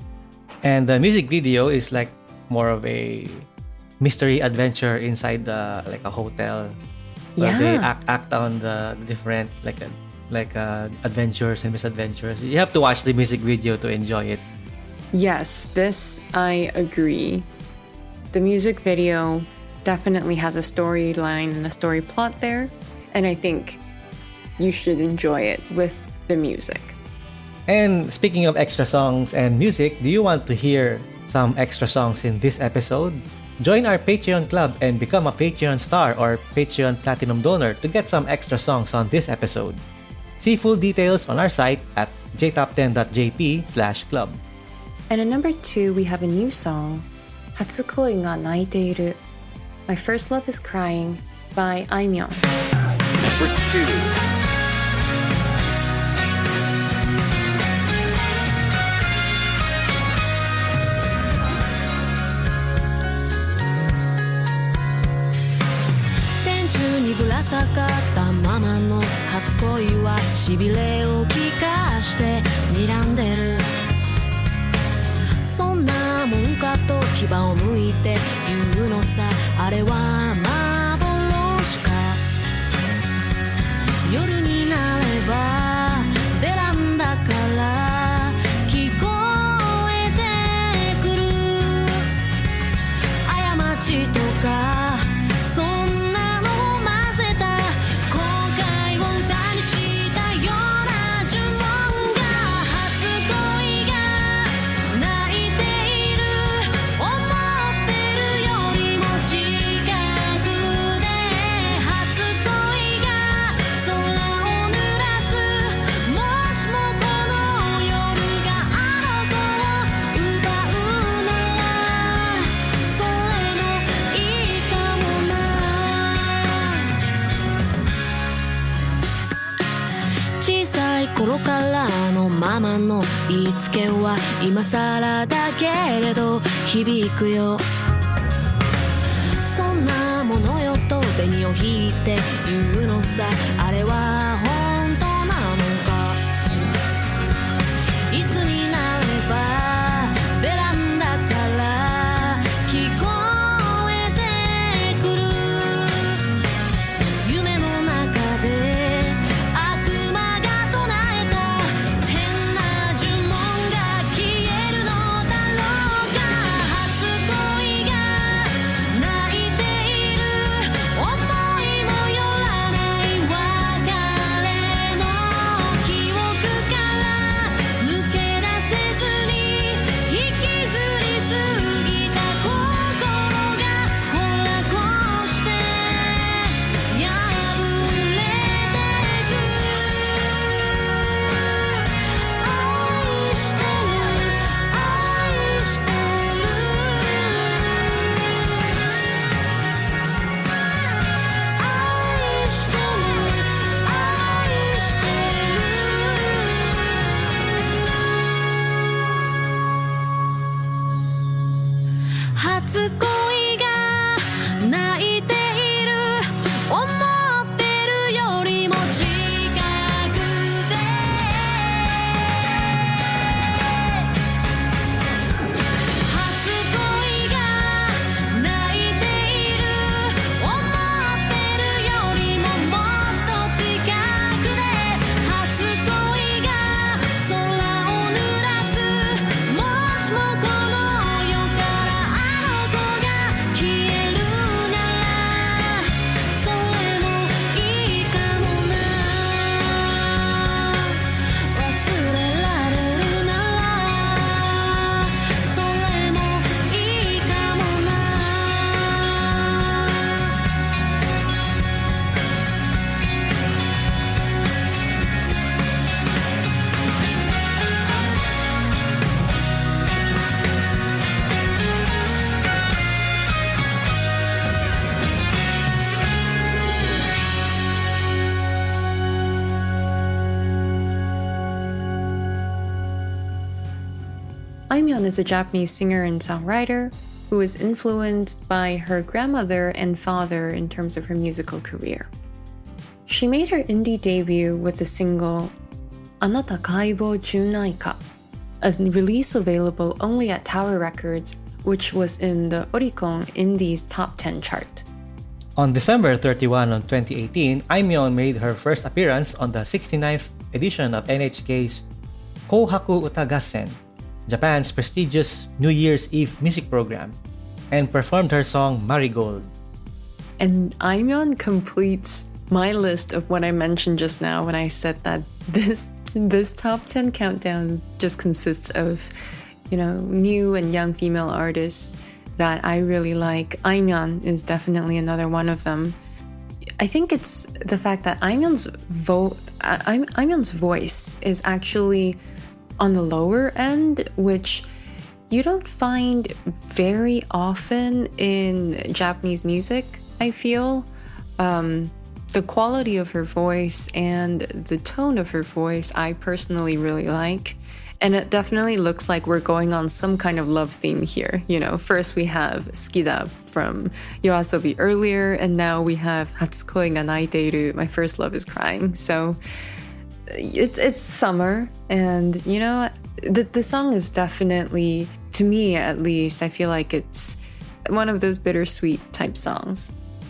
And the music video is like more of a mystery adventure inside the like a hotel. Where yeah. They act act on the different like a, like uh, adventures and misadventures. You have to watch the music video to enjoy it. Yes, this I agree. The music video definitely has a storyline and a story plot there, and I think you should enjoy it with the music. And speaking of extra songs and music, do you want to hear some extra songs in this episode? Join our Patreon club and become a Patreon star or Patreon Platinum donor to get some extra songs on this episode. See full details on our site at j top ten dot j p slash club. And at number two, we have a new song, Hatsukoi ga naiteiru. My First Love is Crying by Aimyon. Number two. ぶら下がったままの初恋はしびれを聞かして睨んでるそんなもんかと牙をむいて言うのさあれは幻か夜になればベランダから聞こえてくる過ちとか頃からのママの言いつけは今更だけれど響くよそんなものよと紅を引いて言うのさあれは本当なのかいつになればベランダから聞こえてくる夢の中で「 Aimyon is a Japanese singer and songwriter who was influenced by her grandmother and father in terms of her musical career. She made her indie debut with the single Anata Kaibo Junai Ka, a release available only at Tower Records, which was in the Oricon Indies Top ten chart. On December thirty-first of twenty eighteen, Aimyon made her first appearance on the sixty-ninth edition of N H K's Kohaku Uta Gassen, Japan's prestigious New Year's Eve music program, and performed her song Marigold. And Aimyon completes my list of what I mentioned just now when I said that this this top ten countdown just consists of, you know, new and young female artists that I really like. Aimyon is definitely another one of them. I think it's the fact that Aimyon's vo- Aimyon's voice is actually on the lower end, which you don't find very often in Japanese music, I feel. Um, the quality of her voice and the tone of her voice, I personally really like. And it definitely looks like we're going on some kind of love theme here. You know, first we have Skida from Yoasobi earlier, and now we have Hatsukoi ga Naiteiru, My First Love is Crying. So it, it's summer, and, you know, the, the song is definitely, to me at least, I feel like it's one of those bittersweet type songs.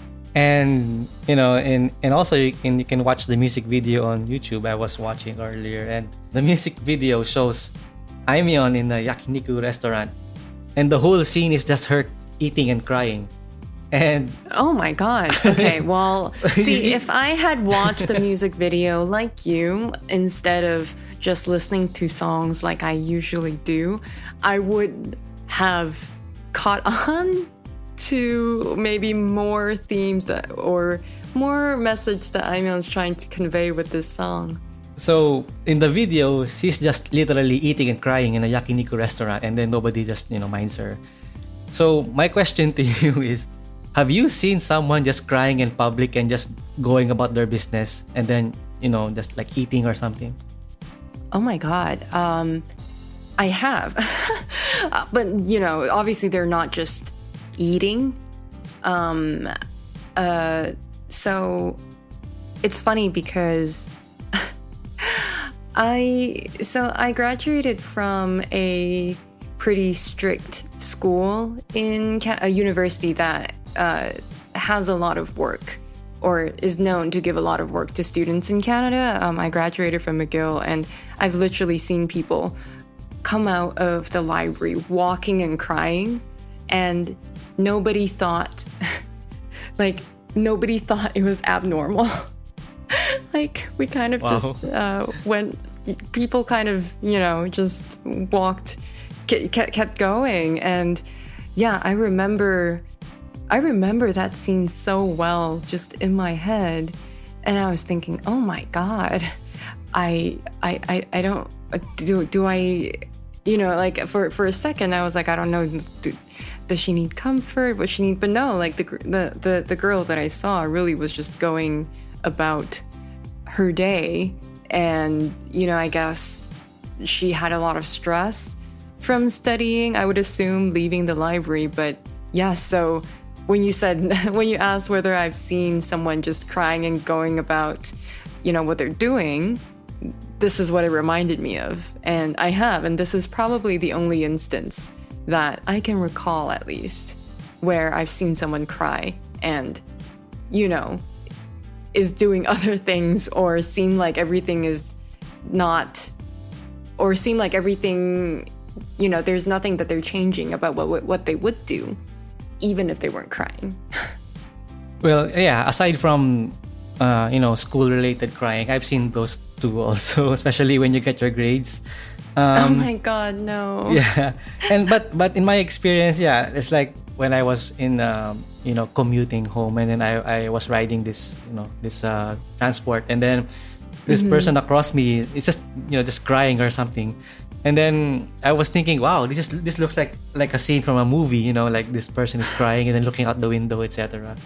And, you know, and, and also you can, you can watch the music video on YouTube I was watching earlier. And the music video shows Aimyon in a yakiniku restaurant. And the whole scene is just her eating and crying. And oh my god. Okay, well, see, if I had watched the music video like you, instead of just listening to songs like I usually do, I would have caught on to maybe more themes that, or more message that Aimyon's trying to convey with this song. So in the video, she's just literally eating and crying in a yakiniku restaurant, and then nobody just, you know, minds her. So my question to you is, have you seen someone just crying in public and just going about their business and then, you know, just like eating or something? Oh my god. Um, I have. But, you know, obviously they're not just eating. Um, uh, so it's funny because I, so I graduated from a pretty strict school in Ca- a university that uh, has a lot of work, or is known to give a lot of work to students in Canada. Um, I graduated from McGill, and I've literally seen people come out of the library walking and crying, and nobody thought, like, nobody thought it was abnormal. Like, we kind of wow. just uh, went, people kind of, you know, just walked, kept, kept going. And yeah, I remember, I remember that scene so well, just in my head. And I was thinking, oh my God, I, I, I, I don't, do, do I, you know, like for, for a second, I was like, I don't know, do, does she need comfort? What she need? But no, like the, the, the, the girl that I saw really was just going about her day. And, you know, I guess she had a lot of stress from studying, I would assume, leaving the library. But yeah, so when you said, when you asked whether I've seen someone just crying and going about, you know, what they're doing, this is what it reminded me of. And I have, and this is probably the only instance that I can recall, at least, where I've seen someone cry and, you know, is doing other things, or seem like everything is not, or seem like everything, you know, there's nothing that they're changing about what what they would do, even if they weren't crying. Well, yeah, aside from, uh, you know, school-related crying, I've seen those too also, especially when you get your grades. Um, oh my God, no. Yeah, and but but in my experience, yeah, it's like when I was in, um, you know, commuting home, and then I, I was riding this, you know, this uh, transport, and then this mm-hmm. person across me is just, you know, just crying or something, and then I was thinking, wow, this is this looks like like a scene from a movie, you know, like this person is crying and then looking out the window, et cetera.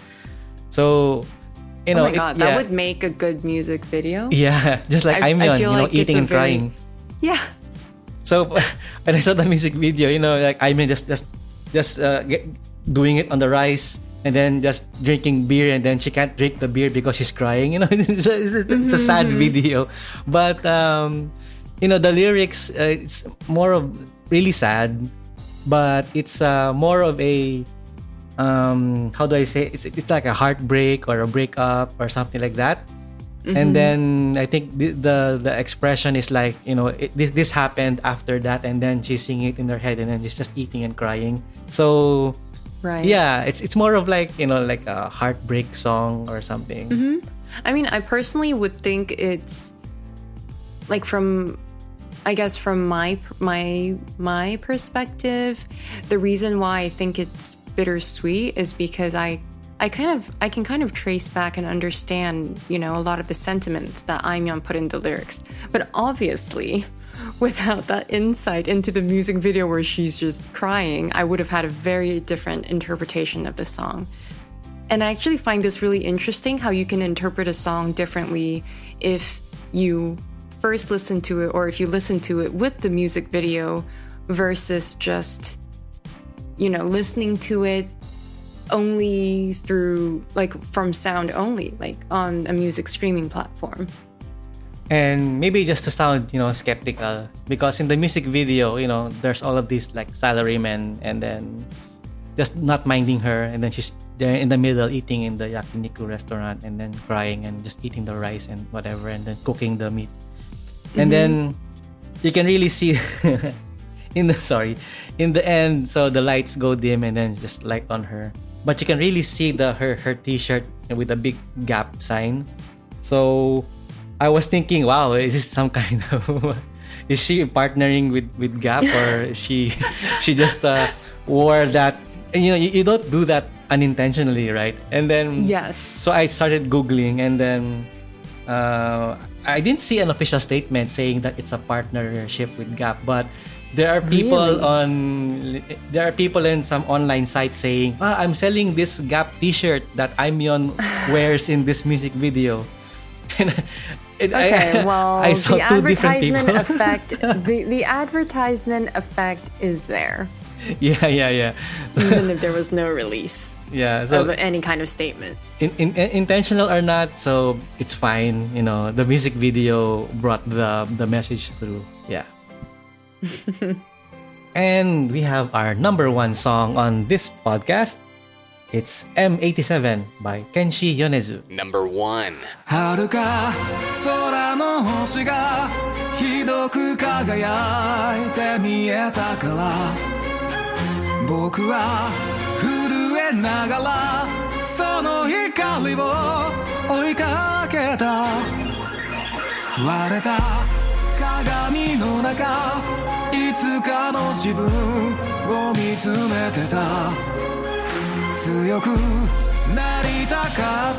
So, you know, oh my God, it, that yeah. would make a good music video. Yeah, just like I, Aimyon, I feel you know, like eating and very, crying. Yeah. So when I saw the music video, you know, like I mean, just just just uh, get, doing it on the rice and then just drinking beer, and then she can't drink the beer because she's crying. You know, it's, it's, it's mm-hmm. a sad video, but um, you know, the lyrics uh, it's more of really sad, but it's uh, more of a um, how do I say? It's it's like a heartbreak or a breakup or something like that. Mm-hmm. And then I think the, the the expression is like, you know, it, this this happened after that, and then she's singing it in her head, and then she's just eating and crying. So, right, yeah, it's it's more of like, you know, like a heartbreak song or something. Mm-hmm. I mean, I personally would think it's like from, I guess from my my my perspective, the reason why I think it's bittersweet is because I. I kind of, I can kind of trace back and understand, you know, a lot of the sentiments that Aimyon put in the lyrics. But obviously, without that insight into the music video where she's just crying, I would have had a very different interpretation of the song. And I actually find this really interesting, how you can interpret a song differently if you first listen to it or if you listen to it with the music video versus just, you know, listening to it only through, like, from sound only, like on a music streaming platform. And maybe just to sound, you know, skeptical, because in the music video, you know, there's all of these like salarymen and then just not minding her, and then she's there in the middle eating in the yakiniku restaurant and then crying and just eating the rice and whatever, and then cooking the meat. And mm-hmm. then you can really see in the sorry in the end, so the lights go dim and then just light on her. But you can really see the her her t-shirt with a big Gap sign. So I was thinking, wow, is this some kind of is she partnering with, with Gap, or she she just uh, wore that? You know, you, you don't do that unintentionally, right? And then yes. So I started Googling, and then uh, I didn't see an official statement saying that it's a partnership with Gap, but there are people really? on there are people in some online sites saying, ah, I'm selling this Gap t-shirt that Aimyon wears in this music video. And it, okay, I, well, I saw the two different advertisement people. effect the, the advertisement effect is there. Yeah, yeah, yeah. Even if there was no release. Yeah, so of any kind of statement. In, in, intentional or not, so it's fine. You know, the music video brought the the message through. Yeah. And we have our number one song on this podcast. It's M eighty-seven by Kenshi Yonezu. Number one. 遥か空の星がひどく輝いて見えたから、僕は震えながらその光を追いかけた。割れた鏡の中、いつかの自分を見つめてた。強くなりたかった、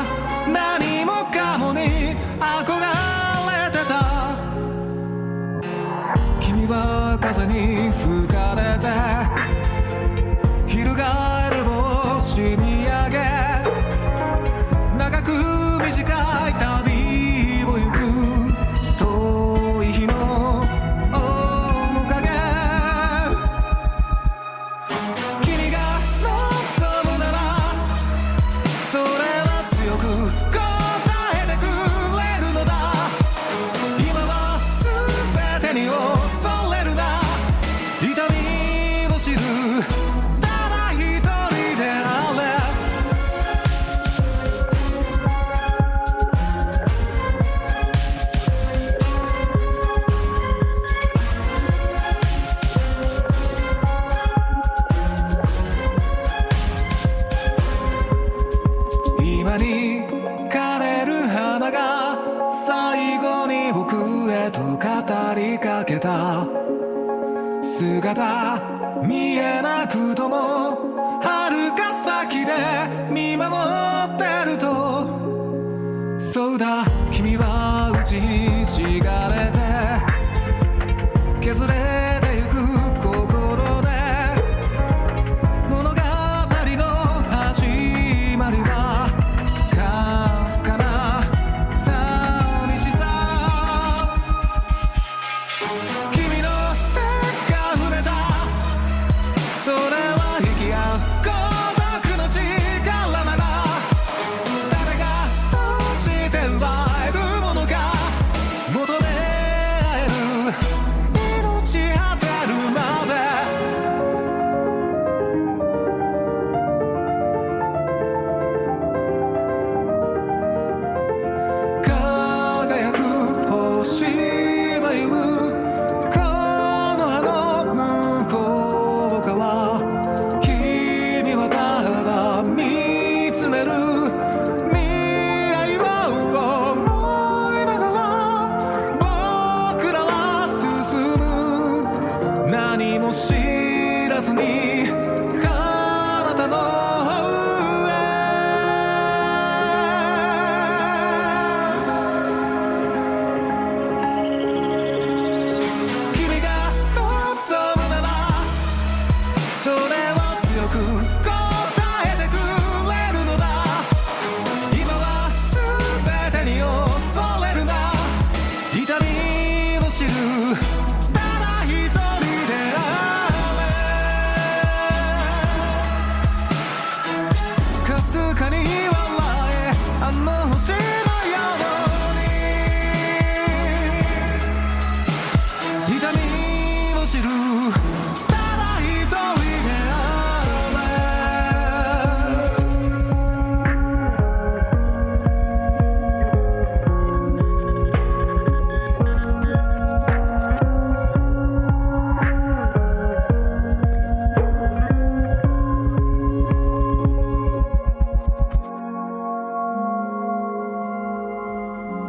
何もかもに憧れてた。君は風に吹かれて翻る星見上げ、長く短い旅を行く遠い日の面影。君が望むならそれは強く答えてくれるのだ。今は全てに恐れるな、痛みを知るただ一人であれ。今に枯れる花が最後に僕へと語りかけた。姿見えなくとも遥か先で見守ってると。そうだ、君は打ちひしがれて削れてゆく心で、物語の始まりはかすかな寂しさ。君の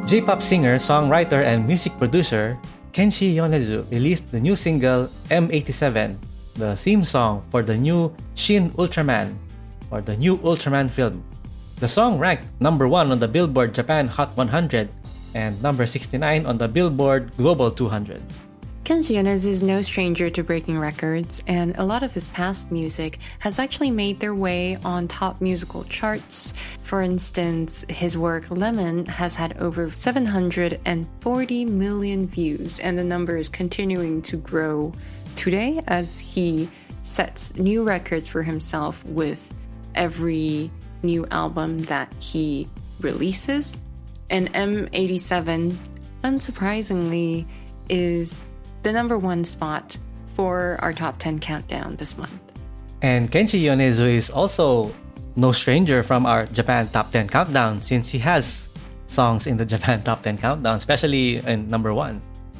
J-pop singer, songwriter, and music producer Kenshi Yonezu released the new single M eighty-seven, the theme song for the new Shin Ultraman, or the new Ultraman film. The song ranked number one on the Billboard Japan Hot one hundred and number sixty-nine on the Billboard Global two hundred. Kenshi Yonezu is no stranger to breaking records, and a lot of his past music has actually made their way on top musical charts. For instance, his work Lemon has had over seven hundred forty million views, and the number is continuing to grow today as he sets new records for himself with every new album that he releases. And M eighty-seven, unsurprisingly, is the number one spot for our top ten countdown this month. And Kenshi Yonezu is also no stranger from our Japan Top ten countdown, since he has songs in the Japan Top ten countdown, especially in number one.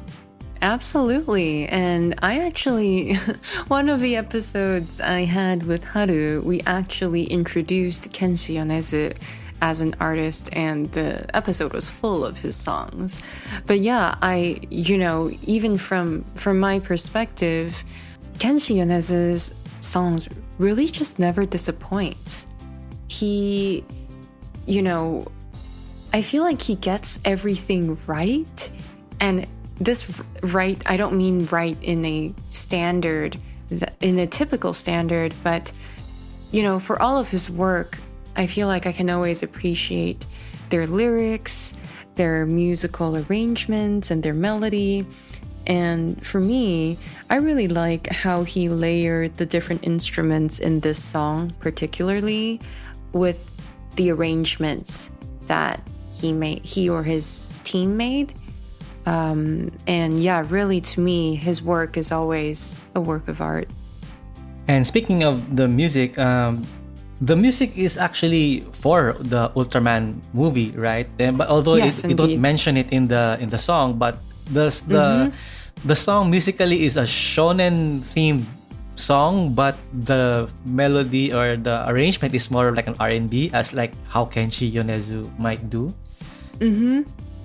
Absolutely. And I actually, one of the episodes I had with Haru, we actually introduced Kenshi Yonezu as an artist, and the episode was full of his songs. But yeah, I, you know, even from from my perspective, Kenshi Yonezu's songs really just never disappoint. He, you know, I feel like he gets everything right. And this right, I don't mean right in a standard, in a typical standard, but, you know, for all of his work, I feel like I can always appreciate their lyrics, their musical arrangements, and their melody. And for me, I really like how he layered the different instruments in this song, particularly with the arrangements that he made, he or his team made. Um, and yeah, really, to me, his work is always a work of art. And speaking of the music, um, the music is actually for the Ultraman movie, right? And, but although yes, it, you don't mention it in the in the song, but the the mm-hmm. the song musically is a shonen themed song, but the melody or the arrangement is more like an R and B, as like how Kenshi Yonezu might do. Mm-hmm.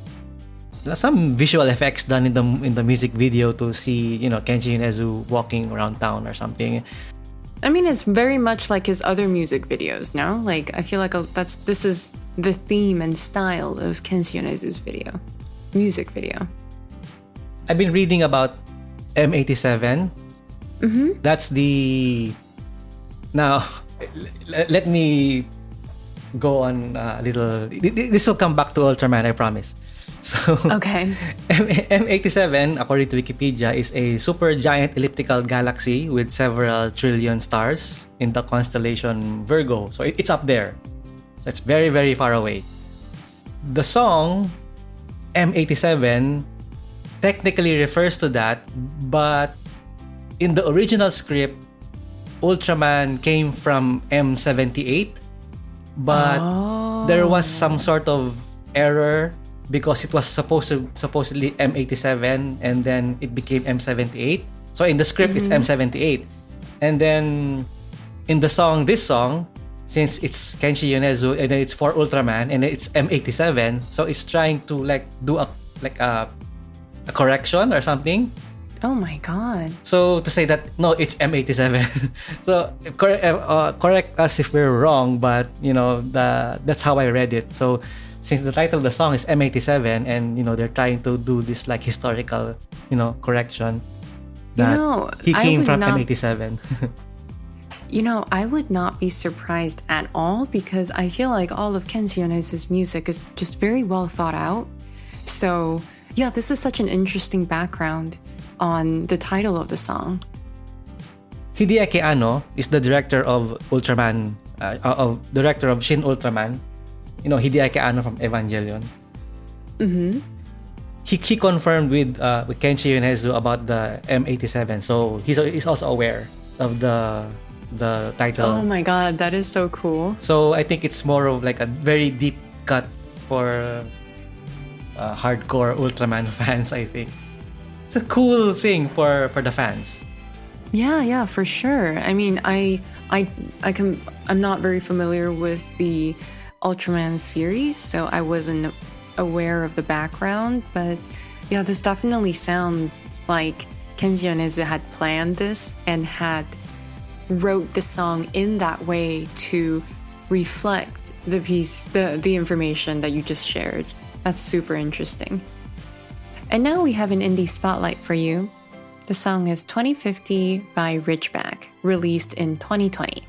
Some visual effects done in the in the music video to see, you know, Kenshi Yonezu walking around town or something. I mean, it's very much like his other music videos, no? Like, I feel like a, that's this is the theme and style of Kenshi Yonezu's video, music video. I've been reading about M eighty-seven. Mm-hmm. That's the... Now, let me go on a little... This will come back to Ultraman, I promise. So, okay. M eighty-seven, according to Wikipedia, is a supergiant elliptical galaxy with several trillion stars in the constellation Virgo. So it's up there. It's very, very far away. The song M eighty-seven technically refers to that, but in the original script, Ultraman came from M seventy-eight, but oh. there was some sort of error because it was supposed to supposedly M eighty-seven and then it became M seventy-eight. So in the script, mm-hmm. it's M seventy-eight. And then in the song, this song, since it's Kenshi Yonezu and then it's for Ultraman and it's M eighty-seven, so it's trying to like do a like a, a correction or something. Oh my god. So to say that, no, it's M eighty-seven. So correct, uh, correct us if we're wrong, but you know, the that's how I read it. So since the title of the song is M eighty-seven and you know they're trying to do this like historical, you know, correction that you know, he came from not, M eighty-seven. You know, I would not be surprised at all because I feel like all of Kenshi Yonezu's music is just very well thought out. So yeah, this is such an interesting background on the title of the song. Hideaki Anno is the director of Ultraman, uh, of director of Shin Ultraman. You know, Hideaki Anno from Evangelion. Mm-hmm. He, he confirmed with uh, with Kenshi Yonezu about the M eighty-seven, so he's he's also aware of the the title. Oh my god, that is so cool. So I think it's more of like a very deep cut for uh, hardcore Ultraman fans, I think. It's a cool thing for, for the fans. Yeah, yeah, for sure. I mean, I I I can I'm not very familiar with the Ultraman series, so I wasn't aware of the background, but yeah, this definitely sounds like Kenji Yonezu had planned this and had wrote the song in that way to reflect the piece, the, the information that you just shared. That's super interesting. And now we have an indie spotlight for you. The song is twenty fifty by Ridgeback, released in twenty twenty.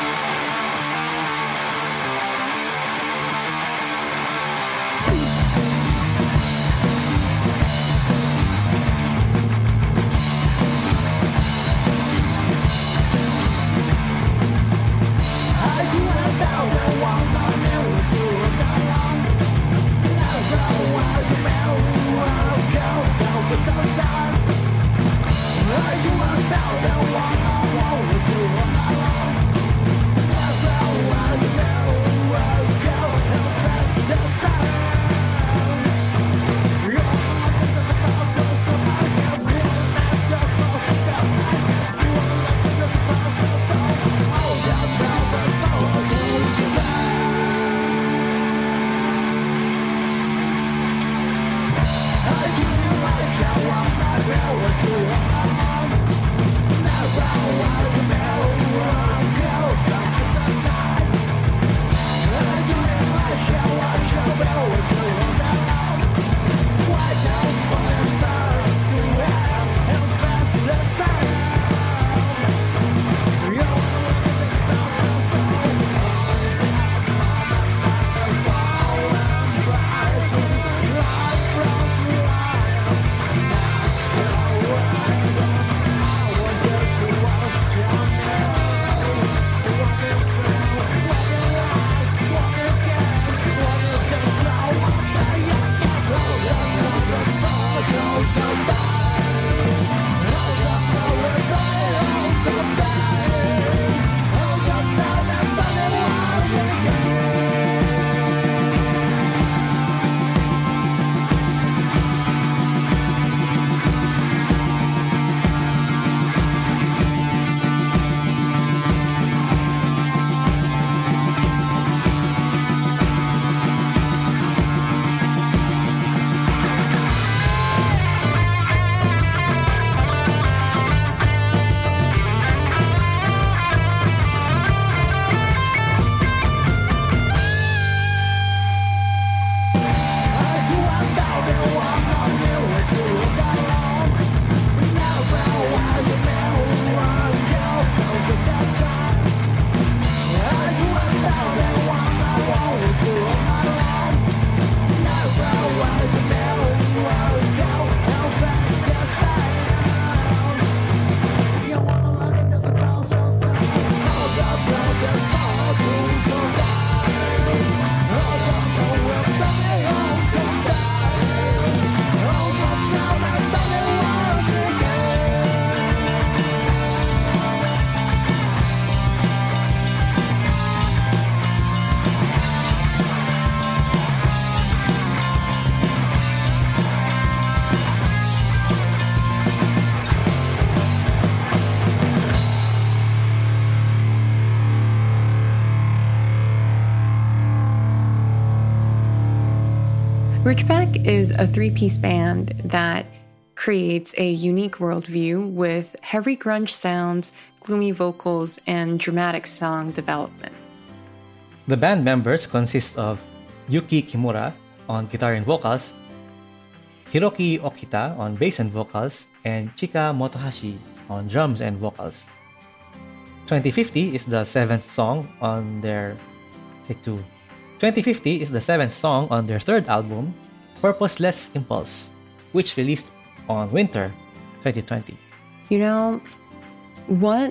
Ridgeback is a three-piece band that creates a unique worldview with heavy grunge sounds, gloomy vocals, and dramatic song development. The band members consist of Yuki Kimura on guitar and vocals, Hiroki Okita on bass and vocals, and Chika Motohashi on drums and vocals. twenty fifty is the seventh song on their take two. twenty fifty is the seventh song on their third album, Purposeless Impulse, which released on winter twenty twenty. You know, what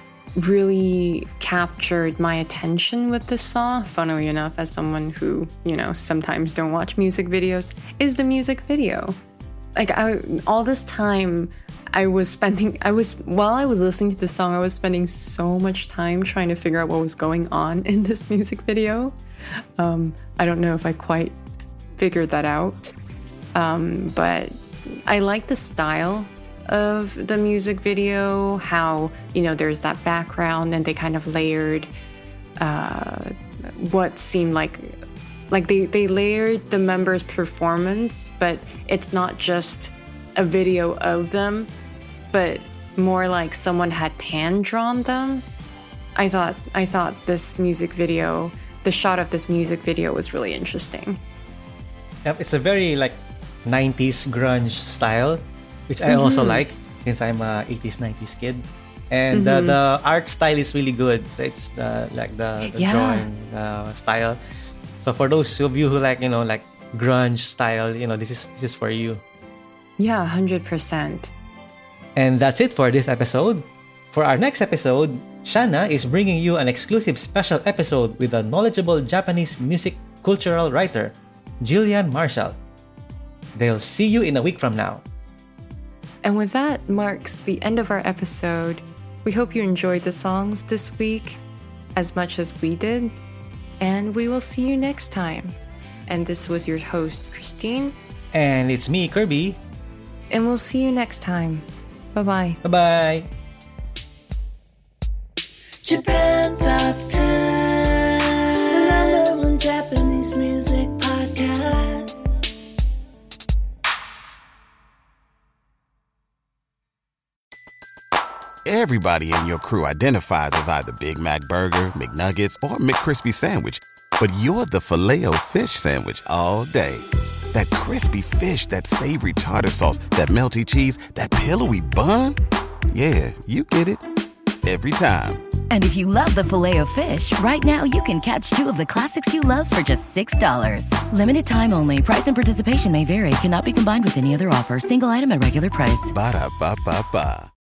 really captured my attention with this song, funnily enough, as someone who, you know, sometimes don't watch music videos, is the music video. Like, I, all this time I was spending, I was, while I was listening to the song, I was spending so much time trying to figure out what was going on in this music video. Um, I don't know if I quite figured that out, um, but I like the style of the music video, how, you know, there's that background and they kind of layered uh, what seemed like like they, they layered the members' performance, but it's not just a video of them, but more like someone had hand drawn them. I thought I thought this music video, the shot of this music video was really interesting. Yep, it's a very like nineties grunge style, which I Mm-hmm. also like since I'm a eighties nineties kid. And Mm-hmm. the, the art style is really good. So it's the like the, the Yeah. drawing uh, style. So for those of you who like, you know, like grunge style, you know, this is this is for you. Yeah, one hundred percent. And that's it for this episode. For our next episode, Shana is bringing you an exclusive special episode with a knowledgeable Japanese music cultural writer, Jillian Marshall. They'll see you in a week from now. And with that marks the end of our episode. We hope you enjoyed the songs this week as much as we did. And we will see you next time. And this was your host, Christine. And it's me, Kirby. And we'll see you next time. Bye-bye. Bye-bye. Japan Top ten, the number one Japanese music podcast. Everybody in your crew identifies as either Big Mac Burger, McNuggets, or McCrispy Sandwich. But you're the Filet-O-Fish Sandwich all day. That crispy fish, that savory tartar sauce, that melty cheese, that pillowy bun. Yeah, you get it. Every time. And if you love the Filet-O-Fish, right now you can catch two of the classics you love for just six dollars. Limited time only. Price and participation may vary. Cannot be combined with any other offer. Single item at regular price. Ba-da-ba-ba-ba.